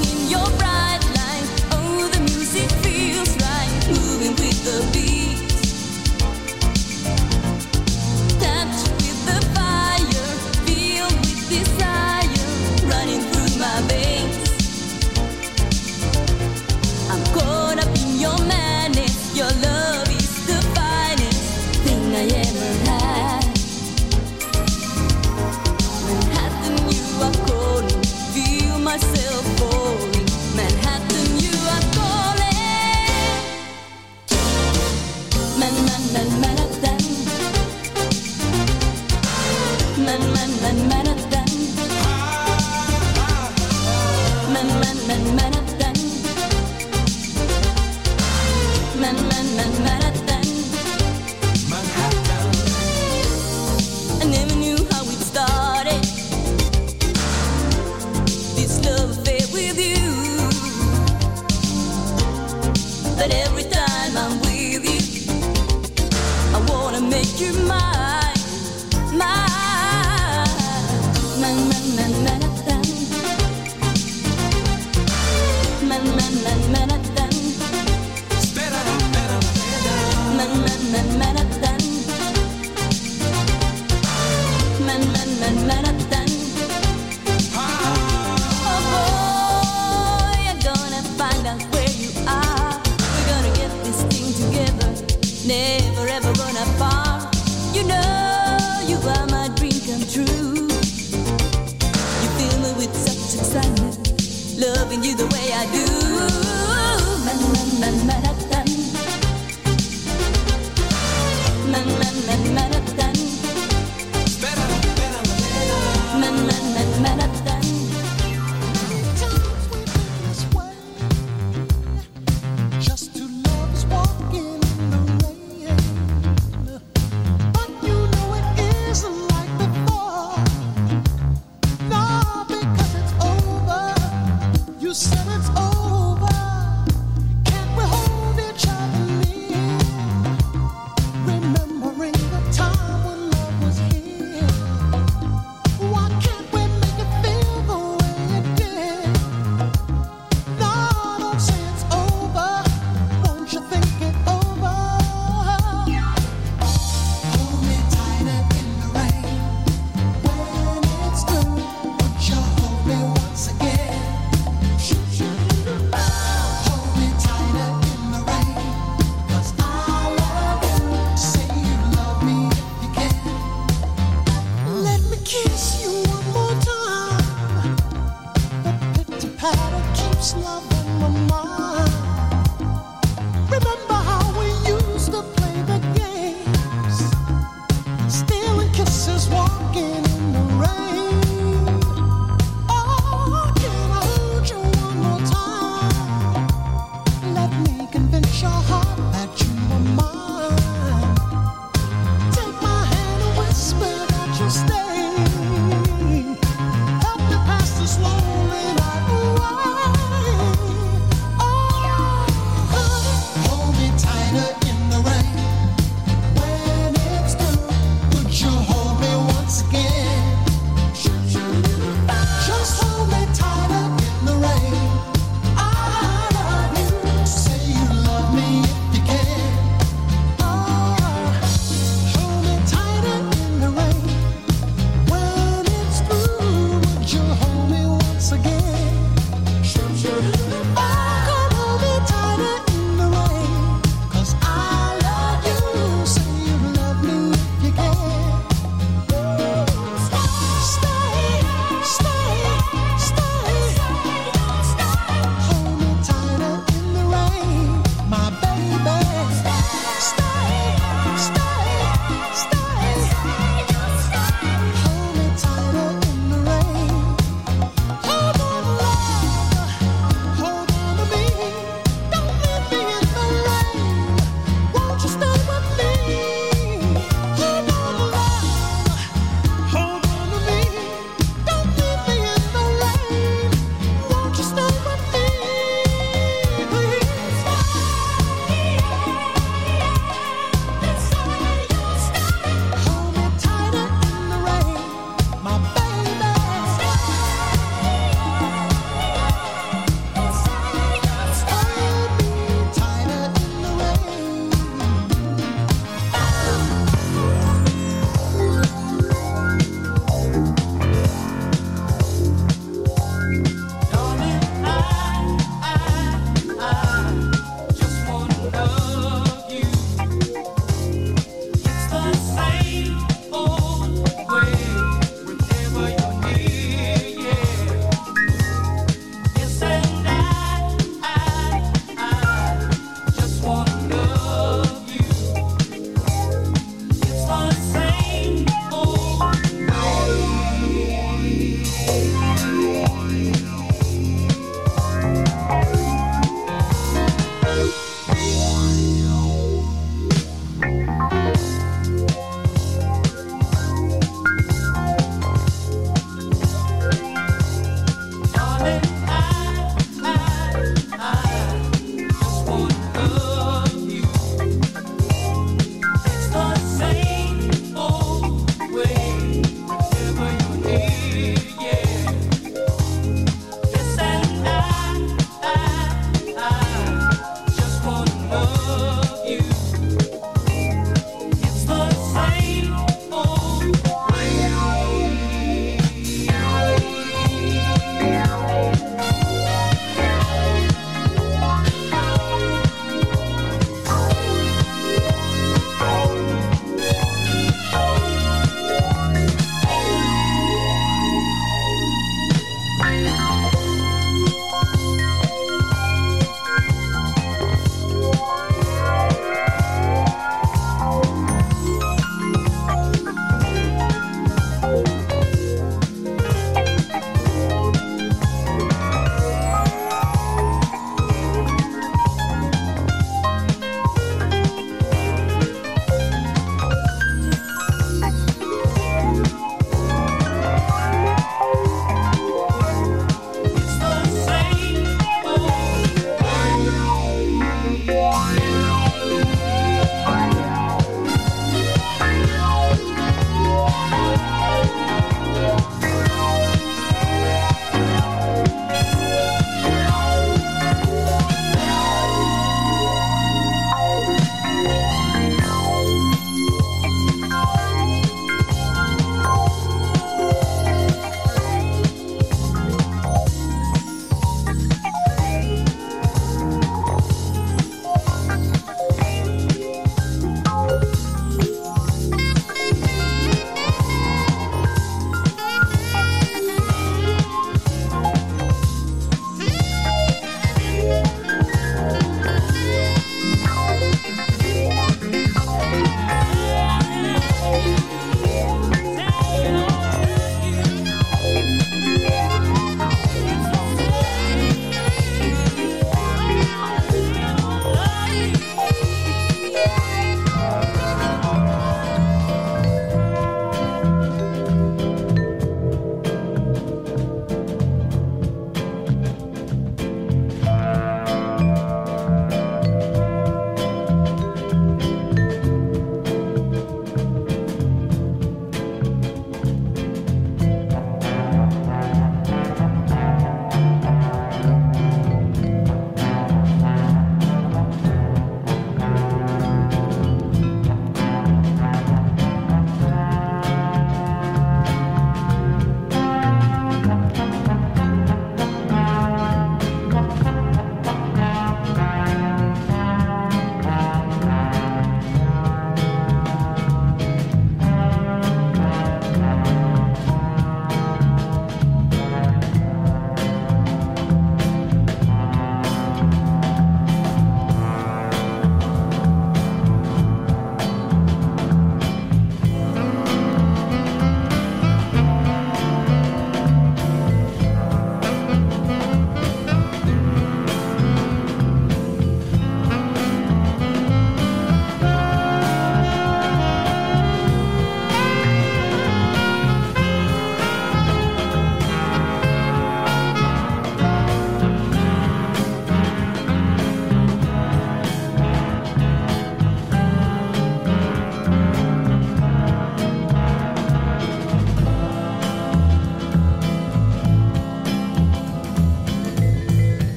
Moving with the beat. ever had. Manhattan, you are calling, feel myself falling. Manhattan, you are calling. Man, man, man, Manhattan. Man, man, man, Manhattan. Man, man, man, Manhattan. Man, man, man, Manhattan. Manhattan. I never knew how it started, this love affair with you. But every time I'm with you, I wanna make you mine, mine. Man, man, man, Manhattan. Man, man, man, Manhattan. Man, man, man, Manhattan. Man, man, man, Manhattan. Oh boy, you're gonna find out where you are. We're gonna get this thing together, never ever gonna part. You know you are my dream come true.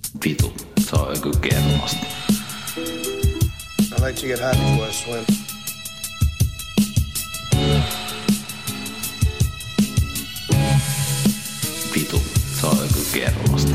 Vitu, se on joku kermasta. I like to get high before I swim. Vitu, se on joku kermasta.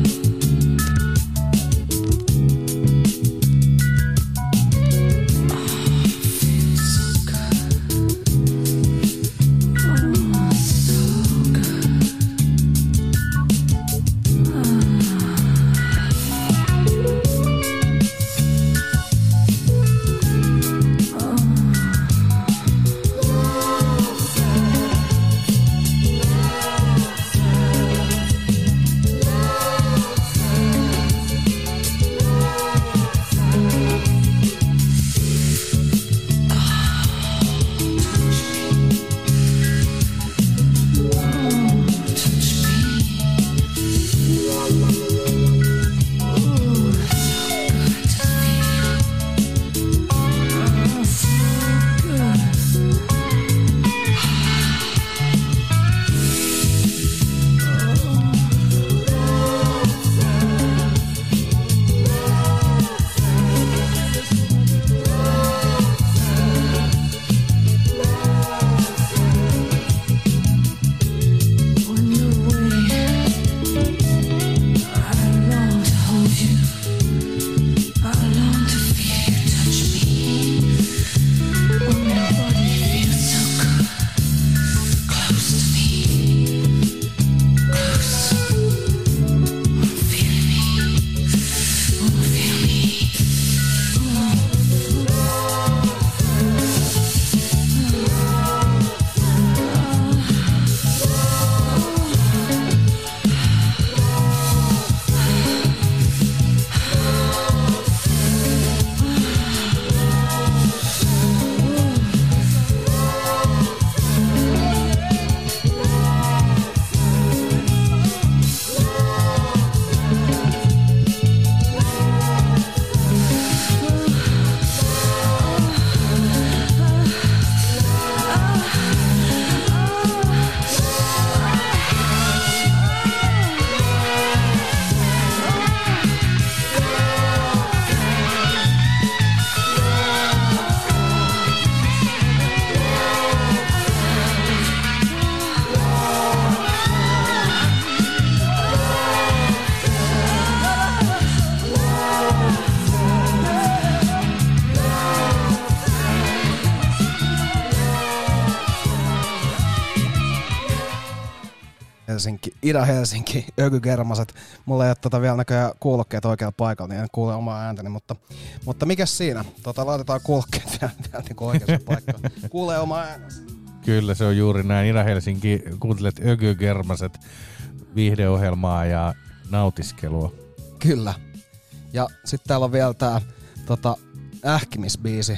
Helsinki, Ida-Helsinki, ökykermaset. Mulla ei ole tota vielä näköjään kuulokkeet oikealla paikalla, niin en kuule omaa ääntäni, mutta, mutta mikäs siinä? Tota, laitetaan kuulokkeet vielä, vielä niin oikeaan paikkaan. Kuulee omaa äänensä. Kyllä, se on juuri näin. Ida-Helsinki, kuuntelet ökykermaset viihdeohjelmaa ja nautiskelua. Kyllä. Ja sitten täällä on vielä tää tota, ähkimisbiisi.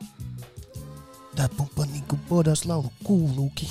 Tää pompa niinku bodas laulu kuuluukin.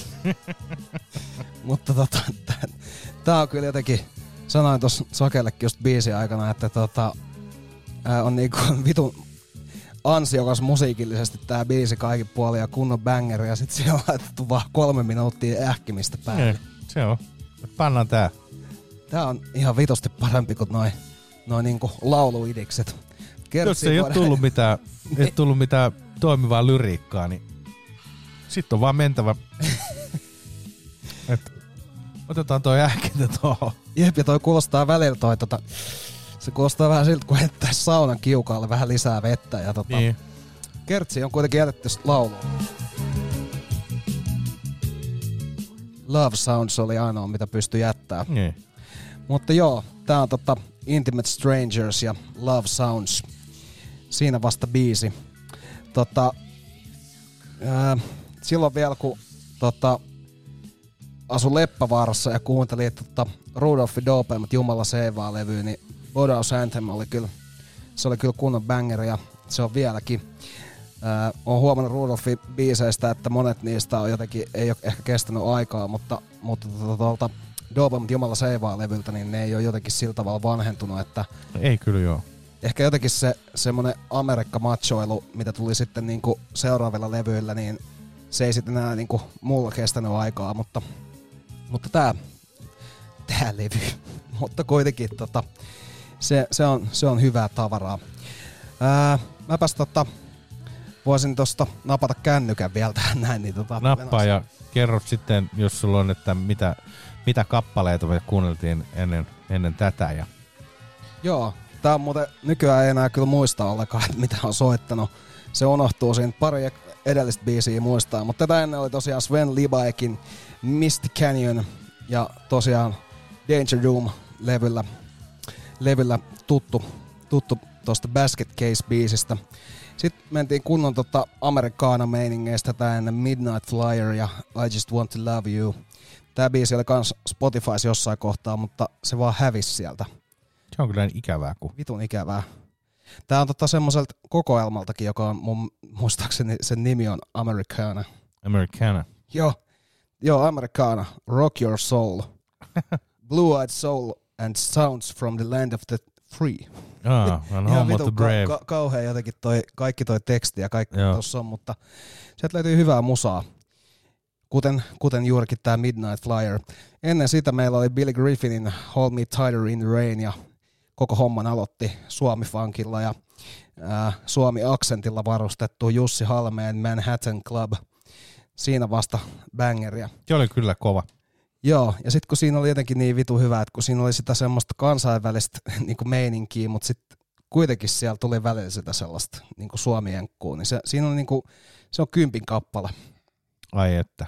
Mutta tota, tää, tää on kyllä jotenkin, sanoin tossa Sakellekin just biisin aikana, että tota, ää, on niinku vitun ansiokas musiikillisesti tää biisi kaikin puolin ja kunnon bangeri ja sit siellä on laitettu vaan kolme minuuttia ähkimistä päälle. Ei, se on. Pannaan tää. Tää on ihan vitosti parempi kuin noi, noi niinku lauluidikset. Jos ei ole tullut mitään, ei tullut mitään toimivaa lyriikkaa, niin sit on vaan mentävä. Et otetaan toi ähkintä tuohon. Jep, ja toi kuulostaa välillä toi tota, se kuulostaa vähän siltä, kun heittäis saunan kiukaalle vähän lisää vettä. Ja tota, niin. Kertsi on kuitenkin jätetty lauluun. Love Sounds oli ainoa, mitä pystyi jättää. Niin. Mutta joo, tää on tota Intimate Strangers ja Love Sounds. Siinä vasta biisi. Tota, ää, silloin vielä kun tota, asun Leppävaarassa ja kuuntelin tota, Rudolphin dopeimmat Jumala seivaa levyä, niin Bodaus Anthem oli kyllä, se oli kyllä kunnon bangeri ja se on vieläkin. Ää, olen huomannut Rudolphin biiseistä, että monet niistä on jotenkin, ei ole ehkä kestänyt aikaa, mutta, mutta tuolta dopeimmat Jumala seivaa levyltä, niin ne ei ole jotenkin sillä tavalla vanhentunut, että ei kyllä joo. Ehkä jotenkin se semmonen Amerikka-machoilu, mitä tuli sitten niinku seuraavilla levyillä, niin se ei sitten enää niinku mulla kestänyt aikaa, mutta, mutta tää, tää levy, mutta kuitenkin tota, se, se, on, se on hyvää tavaraa. Ää, mäpäs tota, voisin tosta napata kännykän vielä tähän näin. Niin tota, Nappaa ja kerro sitten, jos sulla on, että mitä, mitä kappaleita me kuunneltiin ennen, ennen tätä. Ja... Joo, tää on muuten nykyään ei enää kyllä muista ollenkaan, että mitä on soittanut. Se unohtuu siinä, pari edellistä biisiä muistaa, mutta tätä ennen oli tosiaan Sven Libaekin Misty Canyon ja tosiaan Danger Doom-levyllä levyllä tuttu, tuttu tosta Basket Case-biisistä. Sitten mentiin kunnon tota Amerikaana-meiningeistä tää ennen Midnight Flyer ja I Just Want To Love You. Tää biisi oli kans Spotifys jossain kohtaa, mutta se vaan hävisi sieltä. Se on kyllä ikävää. Kun... Vitun ikävää. Tää on tota semmoiselta kokoelmaltakin, joka on mun muistaakseni sen nimi on Americana. Americana. Joo, joo Americana. Rock Your Soul. Blue Eyed Soul and Sounds from the Land of the Free. Ah, and Home of the Brave. Ka- kauhean jotenkin toi, kaikki toi teksti ja kaikki tossa on, mutta sieltä löytyy hyvää musaa. Kuten, kuten juurikin tää Midnight Flyer. Ennen sitä meillä oli Billy Griffinin Hold Me Tighter in the Rain ja koko homman aloitti Suomi-funkilla ja ää, Suomi-aksentilla varustettu Jussi Halmeen Manhattan Club. Siinä vasta bangeria. Se oli kyllä kova. Joo, ja sitten kun siinä oli jotenkin niin vitu hyvä, että kun siinä oli sitä semmoista kansainvälistä niin kuin meininkiä, mutta sitten kuitenkin siellä tuli välillä sitä sellaista niin kuin suomi-jenkkuu, niin se, siinä on niin kuin, se on kympin kappale. Ai että.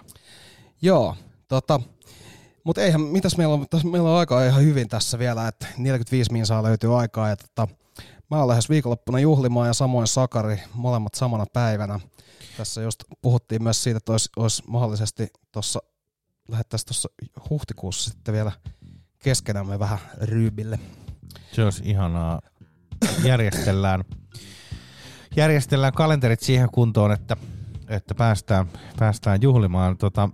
Joo, tota, mutta eihän, mitäs meillä on, tässä meillä on aikaa ihan hyvin tässä vielä, että neljäkymmentäviisi minsaa löytyy aikaa, ja tota, mä oon lähes viikonloppuna juhlimaan ja samoin Sakari, molemmat samana päivänä. Tässä just puhuttiin myös siitä, että olisi, olisi mahdollisesti tuossa, lähettäisiin tuossa huhtikuussa sitten vielä keskenämme vähän ryybille. Se olisi ihanaa. Järjestellään, järjestellään kalenterit siihen kuntoon, että, että päästään, päästään juhlimaan. Tota,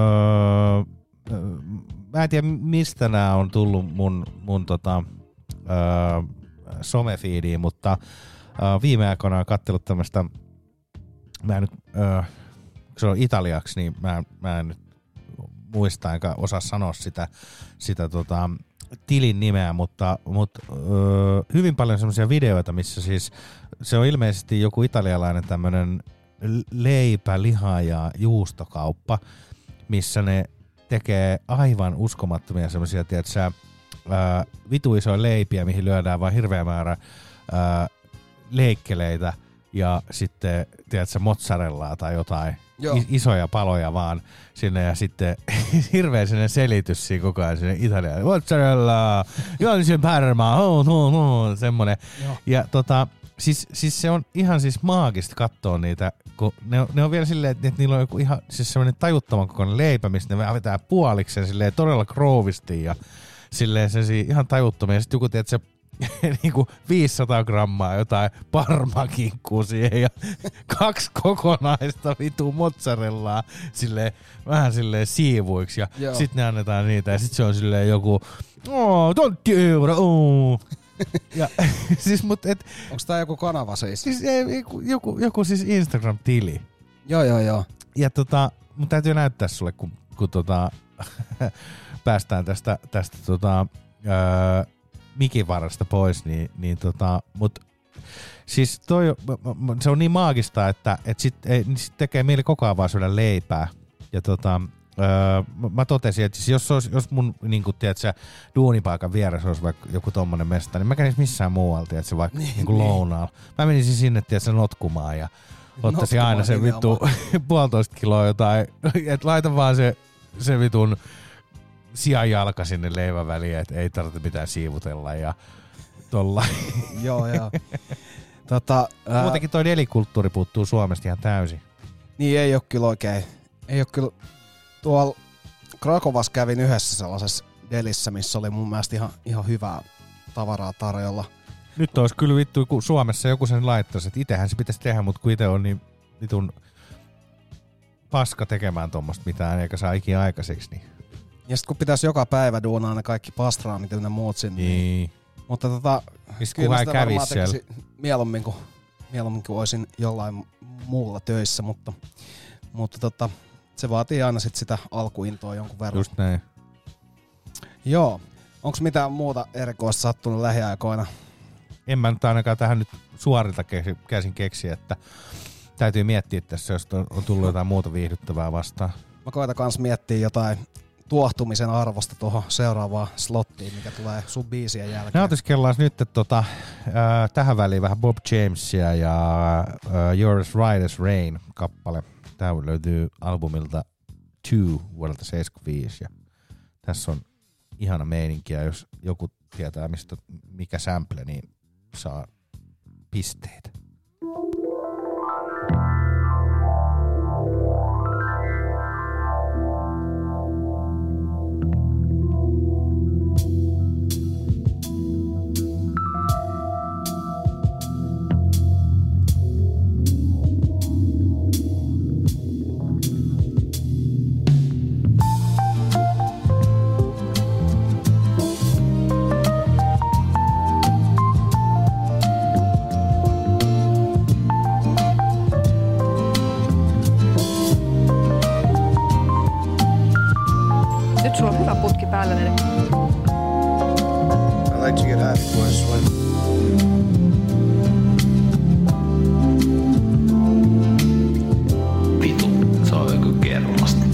öö, mä en tiedä, mistä nämä on tullut mun, mun tota, öö, somefiidiin, mutta öö, viime aikoina olen katsellut tämmöistä, mä en nyt, öö, se on italiaksi, niin mä, mä en nyt muista enkä osaa sanoa sitä, sitä tota, tilin nimeä, mutta, mutta öö, hyvin paljon semmoisia videoita, missä siis se on ilmeisesti joku italialainen tämmönen leipä, liha ja juustokauppa, missä ne tekee aivan uskomattomia semmoisia, tiedätkö, ää, vitu isoja leipiä, mihin lyödään vaan hirveä määrä ää, leikkeleitä ja sitten, tiedätkö, mozzarellaa tai jotain. Is- isoja paloja vaan sinne ja sitten hirveä sinne selitys siinä koko ajan sinne Italiaan. Mozzarella, Jollisen Parma, oh, oh, oh, semmonen. Joo. Ja tota, siis, siis se on ihan siis maagista katsoa niitä, kun ne on, ne on vielä silleen, että niillä on joku ihan siis semmoinen tajuttoman kokoinen leipä, mistä ne vetää puoliksen silleen todella kroovisti ja silleen se ihan tajuttomia. Ja sitten joku, tiedät, se niinku viisisataa grammaa jotain parmakinkkuu siihen ja kaksi kokonaista vitu mozzarellaa silleen, vähän silleen siivuiksi ja Joo. sit ne annetaan niitä ja sit se on silleen joku oh, tontti euro, oh. Ja siis mut et onks tää joku kanava siis? Siis joku, joku, joku siis Instagram-tili. Joo joo joo. Ja tota, mun täytyy näyttää sulle kun, kun tota päästään tästä, tästä tota öö, mikin varasta pois, niin, niin tota, mut siis toi, se on niin maagista, että et sit, ei, niin sit tekee mieli koko ajan vaan syödä leipää. Ja tota, öö, mä totesin, että siis jos, olisi, jos mun niinku, tiedätkö, duunipaikan vieressä olisi vaikka joku tommonen mesta, niin mä kävisin missään muualta, tiedätkö, vaikka niin, niinku niin. lounaalla. Mä menisin sinne, tiedätkö, notkumaan ja ottaisin aina sen vittu puolitoista kiloa jotain, että laita vaan se, se vitun sianjalka sinne leivän väliin, että ei tarvitse mitään siivutella ja tolla. Joo, joo. Tota, ää... Muutenkin toi delikulttuuri puuttuu Suomesta ihan täysin. Niin ei oo kyllä oikein. Ei oo kyllä. Tuolla Krakovassa kävin yhdessä sellaisessa delissä, missä oli mun mielestä ihan, ihan hyvää tavaraa tarjolla. Nyt olisi kyllä vittu, kun Suomessa joku sen laittaisi, että itehän se pitäisi tehdä, mutta kun ite on niin vitun paska tekemään tommoista mitään, eikä saa ikinä aikaiseksi, niin ja sit kun pitäisi joka päivä duunaa ne kaikki pastraamit ja ne muut sinne. Niin. Mutta tota, kyllä sitä varmaan tekisin mieluummin kuin, mieluummin kuin olisin jollain muulla töissä, mutta, mutta tota, se vaatii aina sit sitä alkuintoa jonkun verran. Just näin. Joo. Onko mitään muuta erikoista sattunut lähiaikoina? En mä nyt ainakaan tähän nyt suorilta käsin keksiä, että täytyy miettiä tässä, jos on tullut jotain muuta viihdyttävää vastaan. Mä koitan kans miettiä jotain tuohtumisen arvosta tuohon seuraavaan slottiin, mikä tulee sun biisien jälkeen. Nautiskellaan nyt tota, äh, tähän väliin vähän Bob Jamesia ja äh, You're as Right as Rain kappale. Tää löytyy albumilta Two vuodelta seitsemänkymmentäviisi ja tässä on ihana meininki ja jos joku tietää mistä mikä sample, niin saa pisteitä. I like to get high before I swim. Vitu, se on joku kermasta.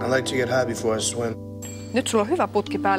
I like to get high before I swim. Nyt sulla on hyvä putki päällä.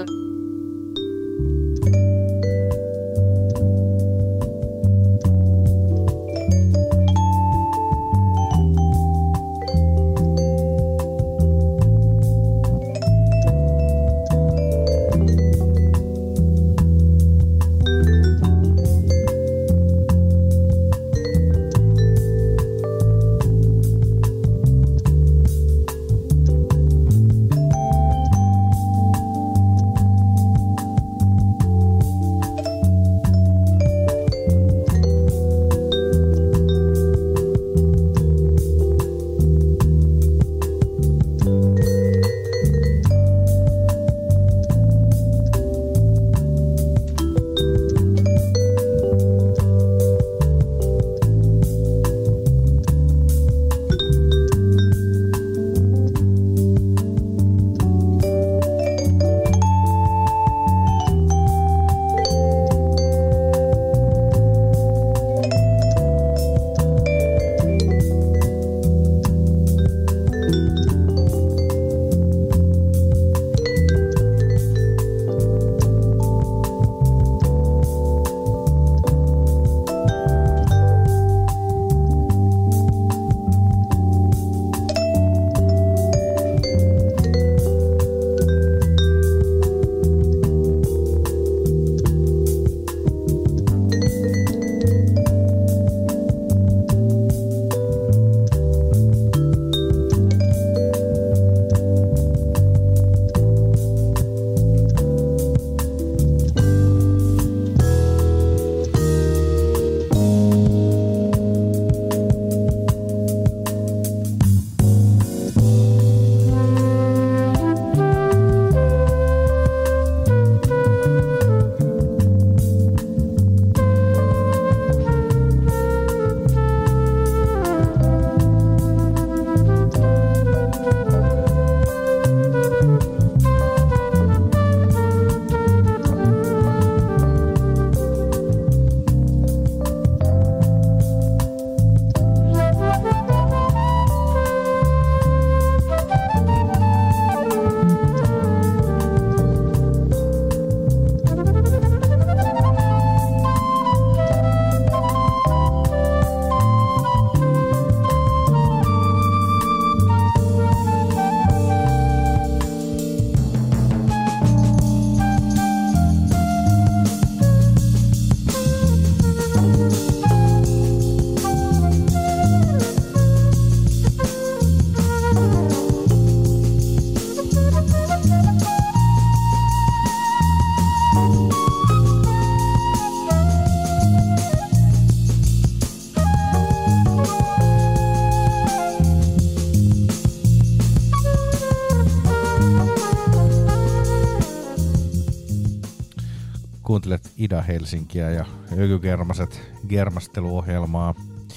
Kuuntelet Ida Helsinkiä ja Ökygermaset germasteluohjelmaa.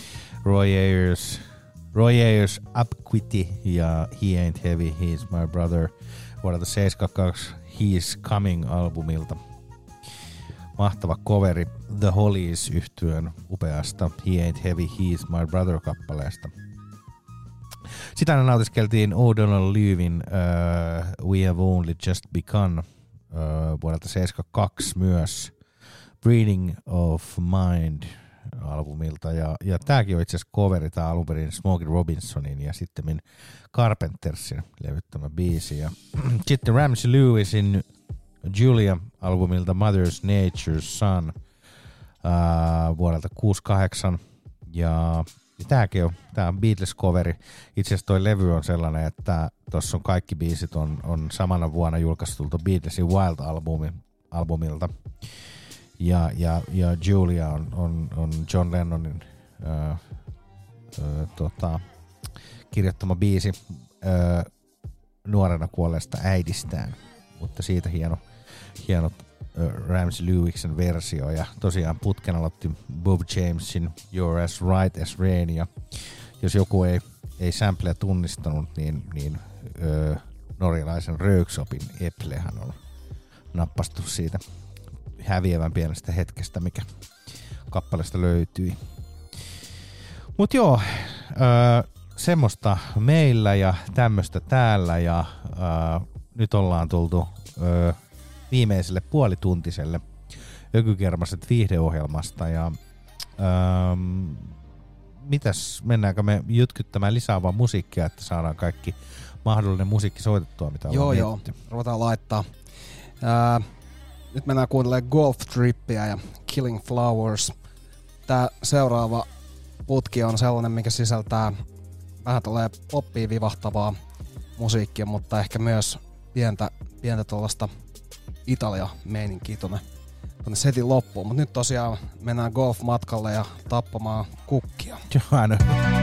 Roy Ayers, Roy Ayers Upquity ja He Ain't Heavy, He's My Brother vuodelta seitsemänkymmentäkaksi He's Coming-albumilta. Mahtava coveri The Hollies -yhtyön upeasta He Ain't Heavy, He's My Brother-kappaleesta. Sitä aina nautiskeltiin O'Donnell Lewin uh, We Have Only Just Begun uh, vuodelta seitsemänkymmentäkaksi myös Breeding of Mind -albumilta. Ja, ja tääkin on itse asiassa coveri, tää alun perin Smokey Robinsonin ja sitten Carpentersin levyttämä biisi. Ja sitten Ramsey Lewisin Julia-albumilta Mother's Nature's Son uh, vuodelta kuusikymmentäkahdeksan. Ja, ja tääkin on, tää on Beatles-coveri. Itse asiassa toi levy on sellainen, että tossa on kaikki biisit on, on samana vuonna julkaistulta Beatlesin Wild-albumilta. Ja, ja, ja Julia on, on, on John Lennonin ö, ö, tota, kirjoittama biisi ö, nuorena kuolleesta äidistään. Mutta siitä hieno, hieno ö, Ramsey Lewiksen versio. Ja tosiaan putken aloitti Bob Jamesin You're as Right as Rain. Ja jos joku ei, ei sampleja tunnistanut, niin, niin ö, norjalaisen Röyksoppin Eplehän on nappastu siitä häviävän pienestä hetkestä, mikä kappaleesta löytyi. Mut joo, äh, semmoista meillä ja tämmöistä täällä ja äh, nyt ollaan tultu äh, viimeiselle puolituntiselle Ökykermaset viihdeohjelmasta ja ähm, mitäs, mennäänkö me jytkyttämään lisää vaan musiikkia, että saadaan kaikki mahdollinen musiikki soitettua, mitä joo, ollaan joo, mietitty. ruvetaan laittaa. Ää, nyt mennään kuuntelemaan Golf Trippiä ja Killing Flowers. Tää seuraava putki on sellainen, mikä sisältää vähän tulee poppiin vivahtavaa musiikkia, mutta ehkä myös pientä, pientä tuollaista Italia-meininkiä tonne, tonne setin loppuun. Mutta nyt tosiaan mennään golf-matkalle ja tappamaan kukkia. Johan.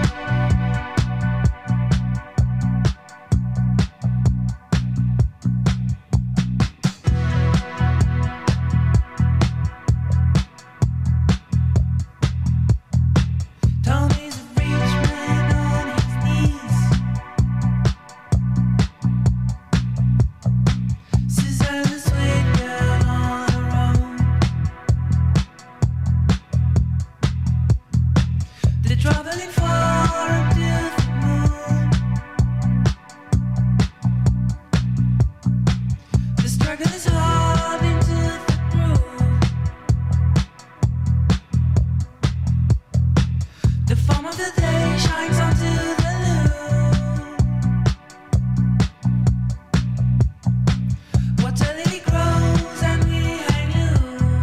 Traveling far until the moon. The struggle is hard into the groove. The form of the day shines onto the loom. What a lily grows and we hang loose.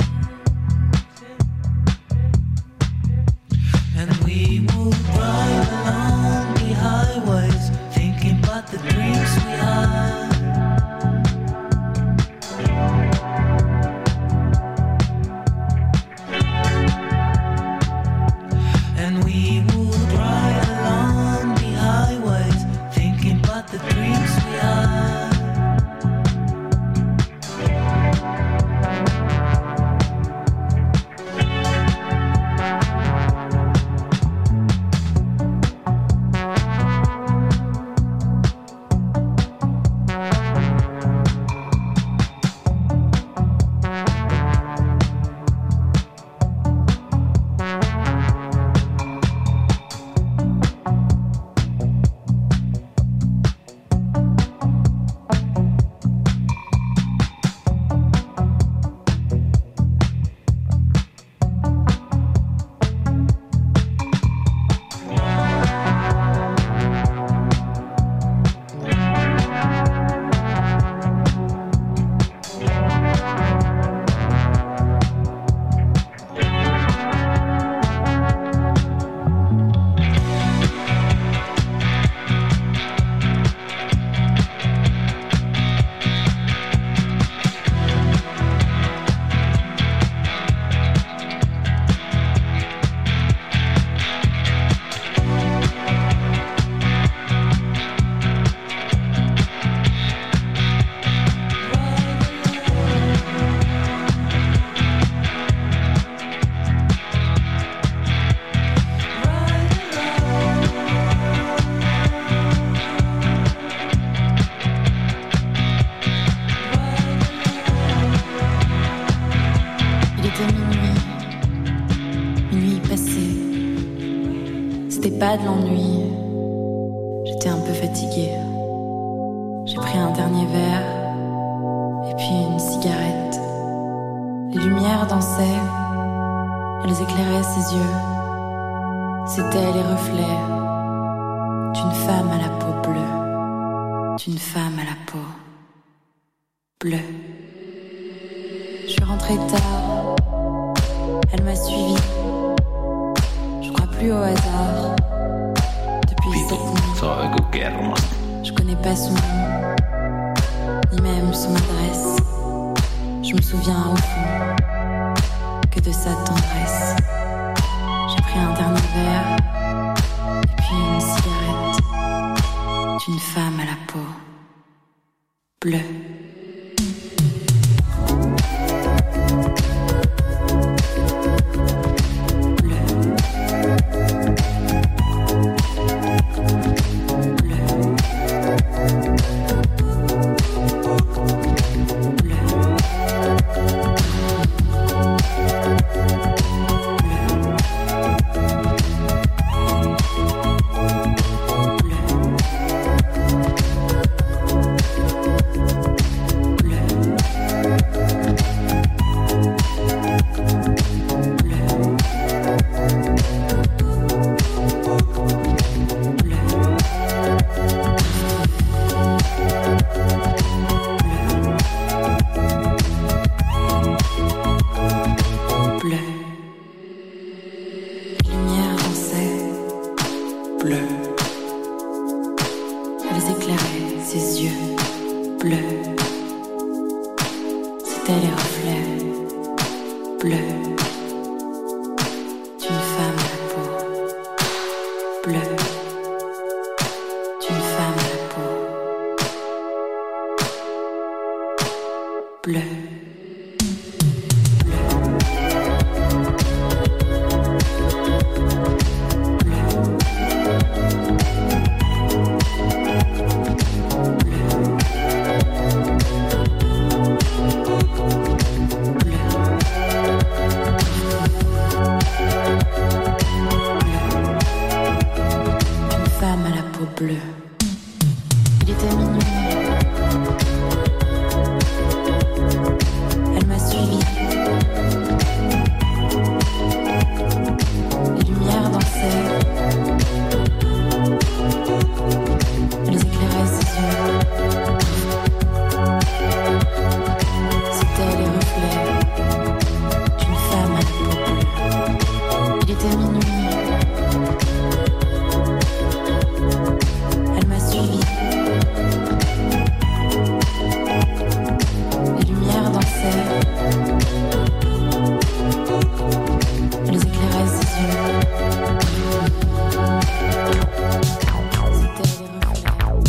And we move right along the highways, thinking about the dreams we had. And we move right along the highways, thinking about the dreams we had. Pas de l'ennui, j'étais un peu fatiguée. J'ai pris un dernier verre et puis une cigarette. Les lumières dansaient, elles éclairaient ses yeux. C'étaient les reflets d'une femme à la peau bleue, d'une femme à la peau bleue. Je suis rentrée tard, elle m'a suivie. Je crois plus au hasard. Je connais pas son nom, ni même son adresse. Je me souviens au fond que de sa tendresse. J'ai pris un dernier verre et puis une cigarette d'une femme à la peau bleue. Bleu. bleus. Elles éclairaient ses yeux bleus. C'était les reflets bleus d'une femme à la peau bleue. D'une femme à la peau bleue. Bleu. Il était minuit. Elle m'a suivi. Les lumières dansaient. Elles éclairaient ses yeux. C'étaient les reflets d'une femme à la peau bleue. Il était minuit. Les lumières dansaient. Elles éclairaient ses yeux. C'étaient les reflets.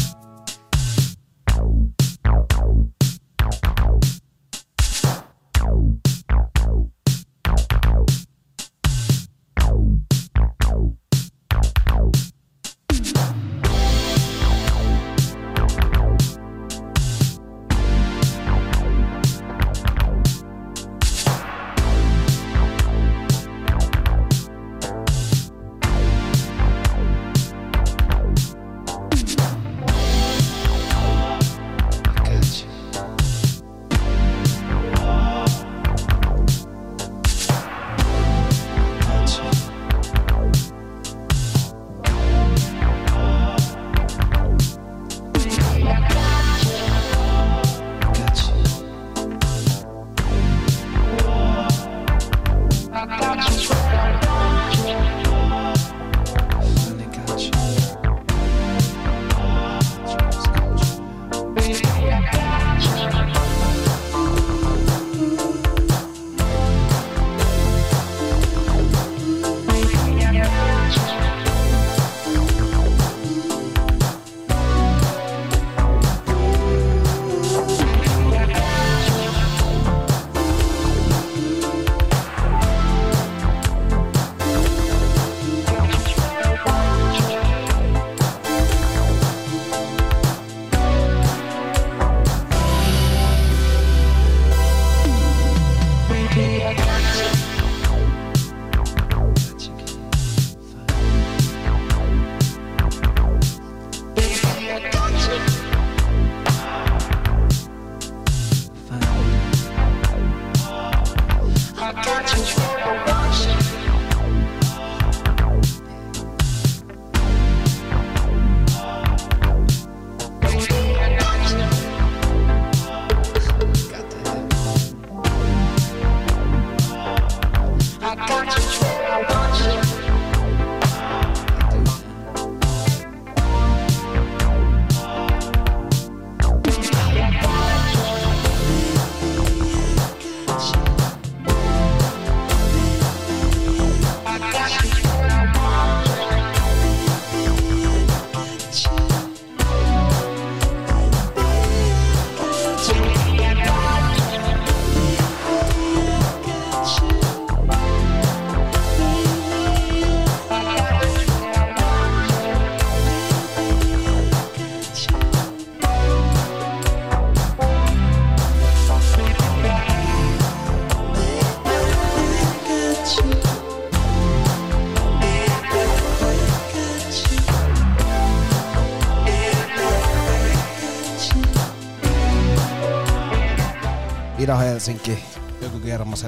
Ida-Helsinki, Ökykermaset,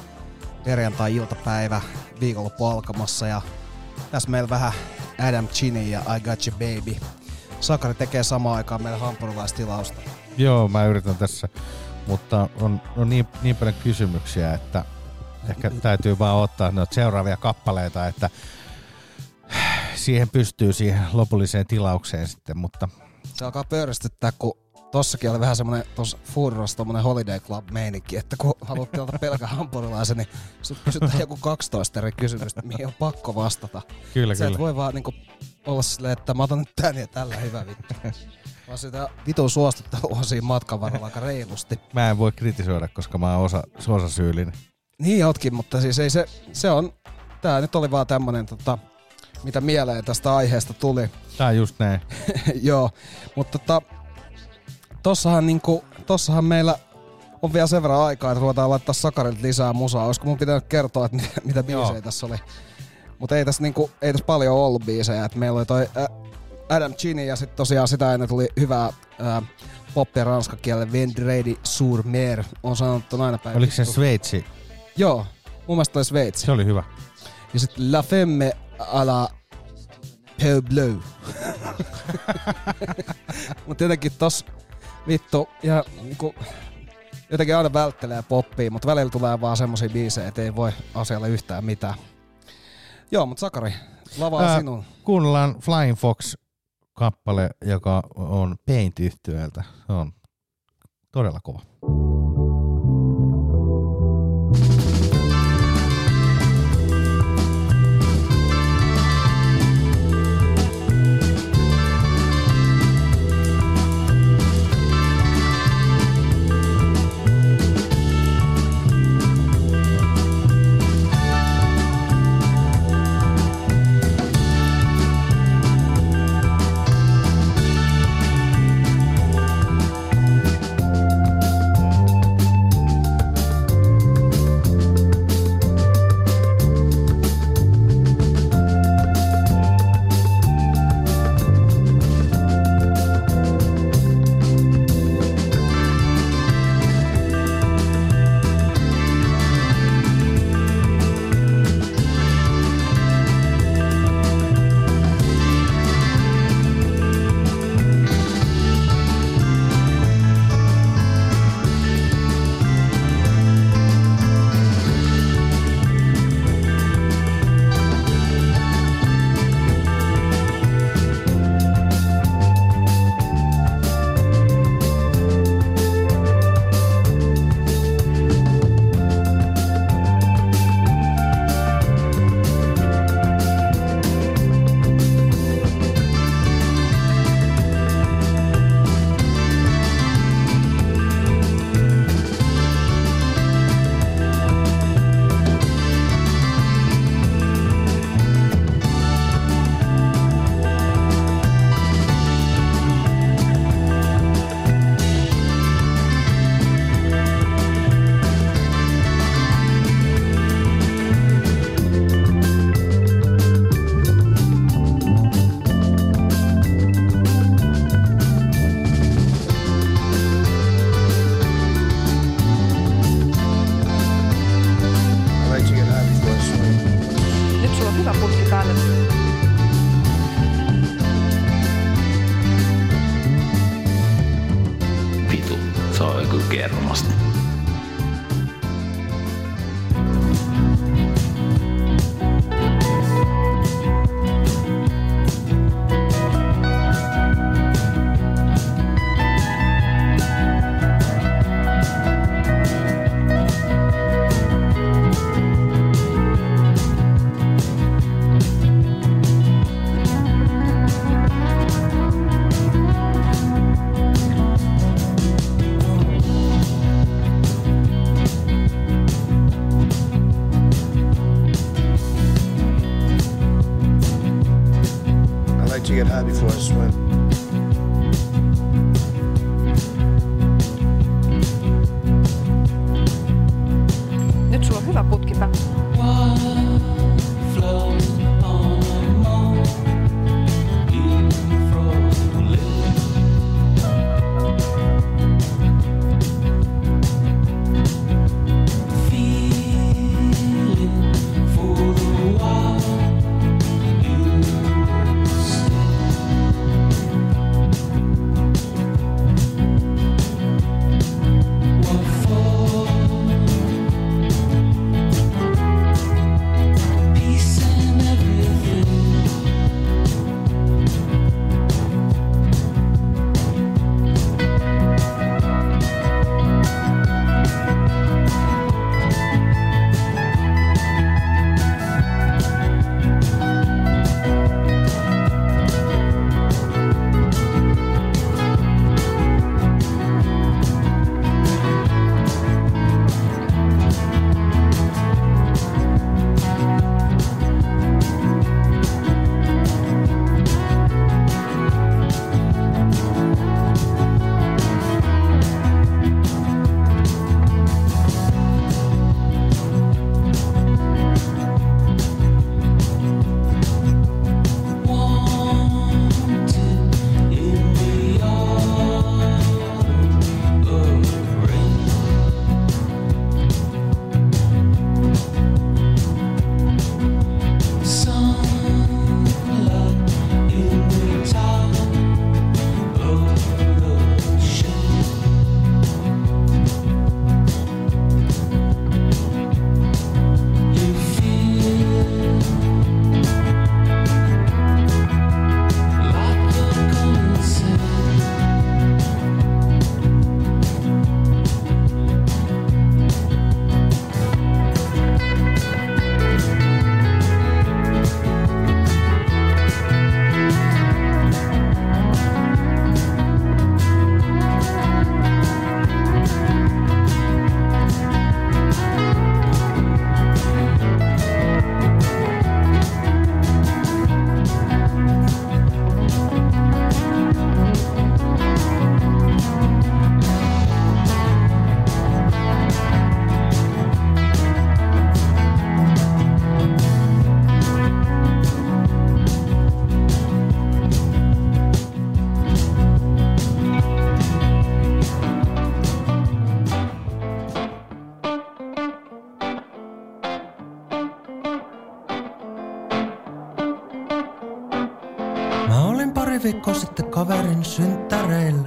perjantai-iltapäivä, viikonloppu alkamassa ja tässä meillä vähän Adam Chinny ja I Got You Baby. Sakari tekee samaan aikaan meillä hampurilaistilausta. Joo, mä yritän tässä, mutta on, on niin, niin paljon kysymyksiä, että ehkä täytyy vaan ottaa noita seuraavia kappaleita, että siihen pystyy siihen lopulliseen tilaukseen sitten, mutta... Se alkaa pöyristyttää, kun tossakin oli vähän semmonen, tossa Foodrossa tommonen Holiday Club meininki, että kun haluat tilata pelkän hampurilaisen, niin sut kysytään joku kaksitoista eri kysymystä, mihin on pakko vastata. Kyllä, Sä kyllä. et voi vaan niinku olla silleen, että mä otan nyt tän ja tällä hyvä vittu. Vaan sitä vitun suostuttelua siinä matkan varrella aika reilusti. Mä en voi kritisoida, koska mä oon osa, osa syyllinen. Niin ootkin, mutta siis ei se, se on, tää nyt oli vaan tämmönen tota, mitä mieleen tästä aiheesta tuli. Tää on just näin. Joo, mutta tota, tossahan, niinku, tossahan meillä on vielä sen verran aikaa, että ruvetaan laittaa Sakarilta lisää musaa. Olisiko mun pitänyt kertoa, että mitä, mitä biisejä tässä oli? Mutta ei tässä niinku, ei tässä paljon ollut biisejä. Et meillä oli toi ä, Adam Chini ja sitten tosiaan sitä ennen tuli hyvää ä, poppia ranskakielelle Vendredi sur mer. On sanottu aina päivä. Oliko se Sveitsi? Joo, mun mielestä oli Sveitsi. Se oli hyvä. Ja sitten La Femme à la Peu Bleu. Mut jotenkin tossa vittu, ja niinku, jotenkin aina välttelee poppia, mutta välillä tulee vaan semmosia biisejä, et ei voi asialle yhtään mitään. Joo, mut Sakari, lava on sinun. Kuunnellaan Flying Fox-kappale, joka on Paint-yhtyeeltä. Se on todella kova. kermasta. To get high before I swim. Nyt sulla on hyvä putki päällä. pari viikkoa sitten kaverin synttäreillä.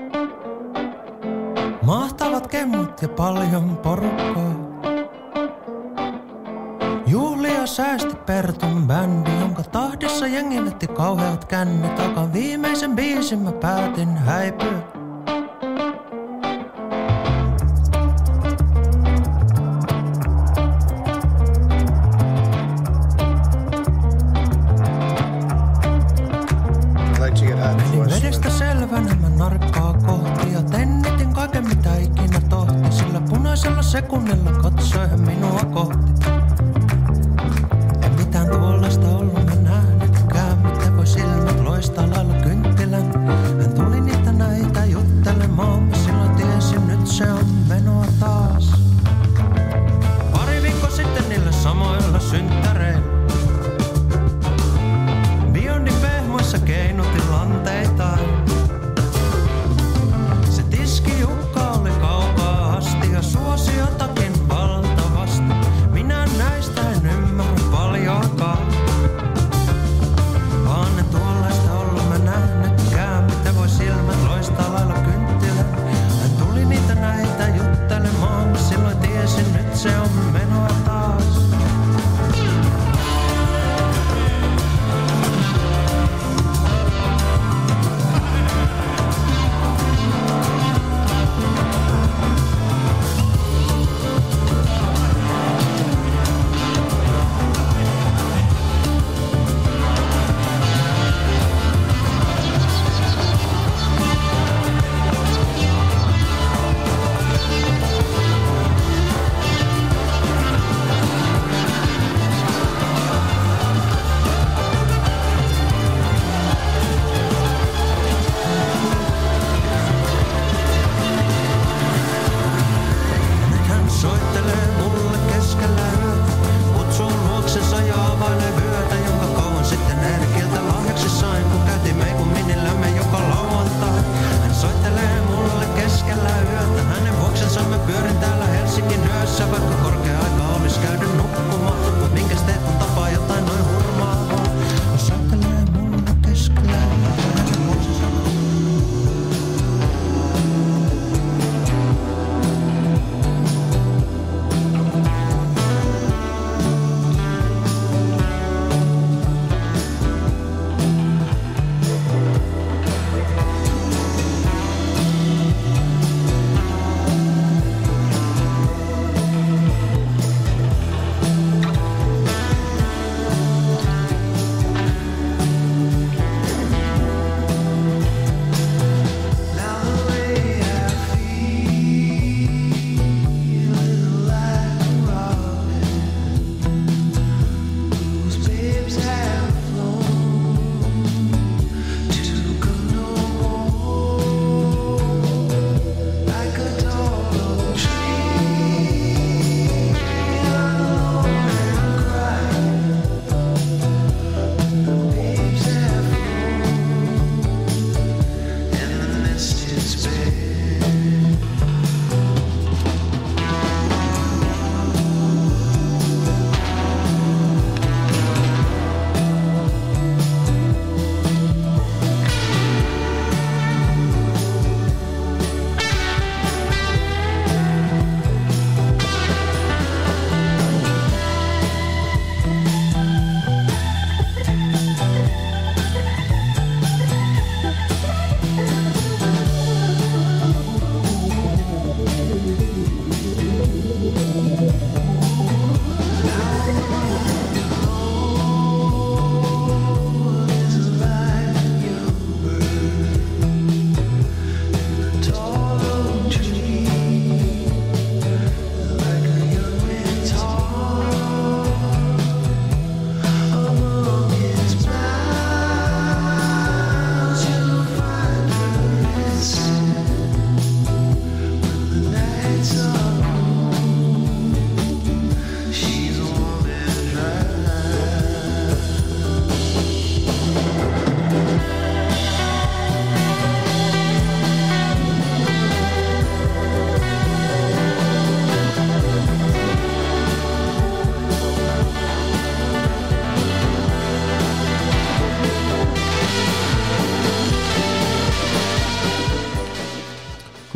Mahtavat kemmut ja paljon porukkaa. Juhlia säästi Pertun bändi, jonka tahdissa jengi vetti kauheat kännit. Aika viimeisen biisin mä päätin häipyä. Menin vedestä selvänä mä narkkaa kohti ja tennitin kaiken mitä ikinä tohti. Sillä punaisella sekunnilla katsoi hän minua kohti. En mitään tuollaista ollut mä nähnytkään, miten voi silmät loistaa lailla kynttilän. Hän tuli niitä näitä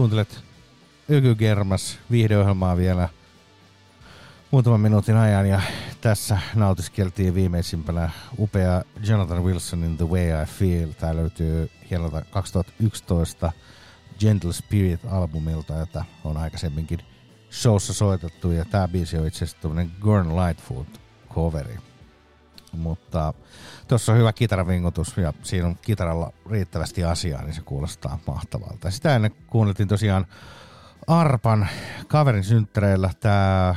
Kuuntelet Ykygermas viihdeohjelmaa vielä muutaman minuutin ajan ja tässä nautiskeltiin viimeisimpänä upea Jonathan Wilsonin The Way I Feel. Tää löytyy hienolta kaksituhattayksitoista Gentle Spirit-albumilta, jota on aikaisemminkin showssa soitettu, ja tää biisi on itse asiassa tämmönen Gordon Lightfoot-coveri. Mutta tuossa on hyvä kitaravingotus ja siinä on kitaralla riittävästi asiaa, niin se kuulostaa mahtavalta. Sitä ennen kuunneltiin tosiaan Arpan kaverin synttäreillä. Tää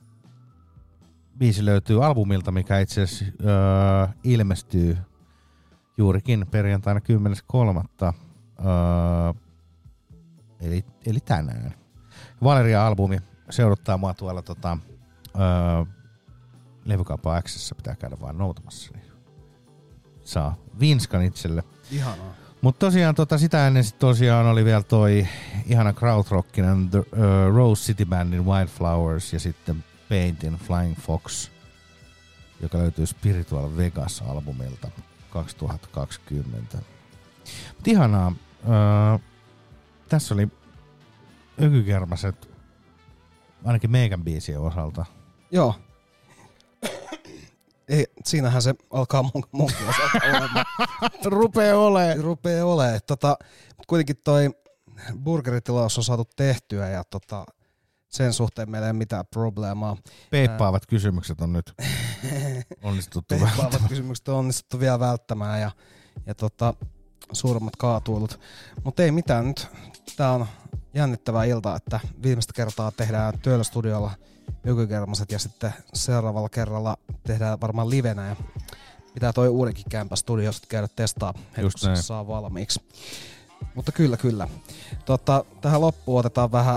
biisi löytyy albumilta, mikä itse asiassa öö, ilmestyy juurikin perjantaina kymmenes kolmatta Öö, eli, eli tänään. Valeria-albumi, se odottaa mua tuolla tota, öö, Levykauppa X:ssä, pitää käydä vaan noutamassa, niin saa vinskan itselle. Ihanaa. Mutta tosiaan tota, sitä ennen sit tosiaan oli vielä toi ihana krautrockinen The uh, Rose City Bandin Wildflowers ja sitten Paintin Flying Fox, joka löytyy Spiritual Vegas-albumilta kaksituhattakaksikymmentä. Mut ihanaa. Uh, tässä oli Ökykermaset ainakin meikän biisien osalta. Joo. Ei, siinähän se alkaa mun, munkin osalta olemaan. Rupee olee. Rupee olee. Tota, kuitenkin toi burgeritilaus on saatu tehtyä ja tota, sen suhteen meillä ei ole mitään probleemaa. Peippaavat kysymykset on nyt onnistuttu Peippaavat välttämään. kysymykset on onnistuttu vielä välttämään ja, ja tota, suuremmat kaatuilut. Mutta ei mitään nyt. Tää on jännittävä ilta, että viimeistä kertaa tehdään Työlö-studiolla Ökykermaset ja sitten seuraavalla kerralla tehdään varmaan livenä ja pitää toi uudenkin kämpä studiosta käydä testaa, kun se saa valmiiksi. Mutta kyllä, kyllä. Tota, tähän loppuun otetaan vähän,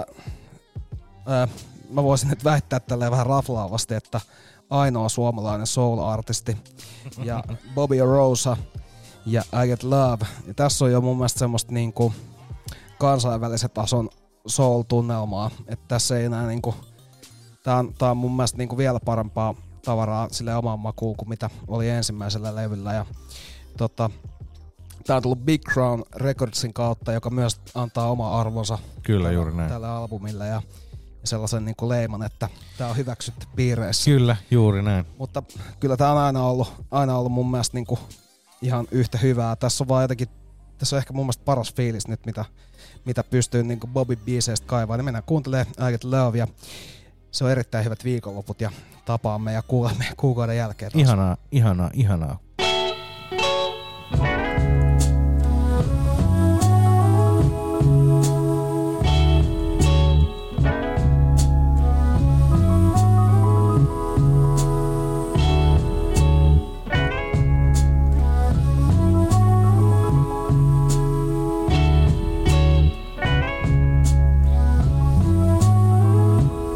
ää, mä voisin nyt väittää tälleen vähän raflaavasti, että ainoa suomalainen soul-artisti ja Bobby Rosa ja I Get Love. Ja tässä on jo mun mielestä semmoista niinku kansainvälisen tason soul-tunnelmaa, että tässä ei enää niinku Tää on, tää on mun mielestä niinku vielä parempaa tavaraa sille omaan makuun kuin mitä oli ensimmäisellä levyllä. Ja, tota, tää on tullut Big Crown Recordsin kautta, joka myös antaa oma arvonsa Kyllä, juuri näin. tälle albumille ja, ja sellaisen niinku leiman, että tää on hyväksytty piireissä. Kyllä, juuri näin. Mutta kyllä tää on aina ollut, aina ollut mun mielestä niinku ihan yhtä hyvää. Tässä on vaan jotenkin, tässä on ehkä mun mielestä paras fiilis nyt, mitä, mitä pystyy niinku Bobby-biiseistä kaivaa. Niin mennään kuuntelemaan I Get Love ja se on erittäin hyvät viikonloput ja tapaamme ja kuulemme kuukauden jälkeen taas. Ihanaa, ihanaa, ihanaa.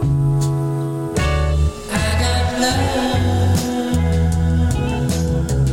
I got love.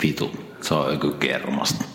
Vitu, se on joku kermasta.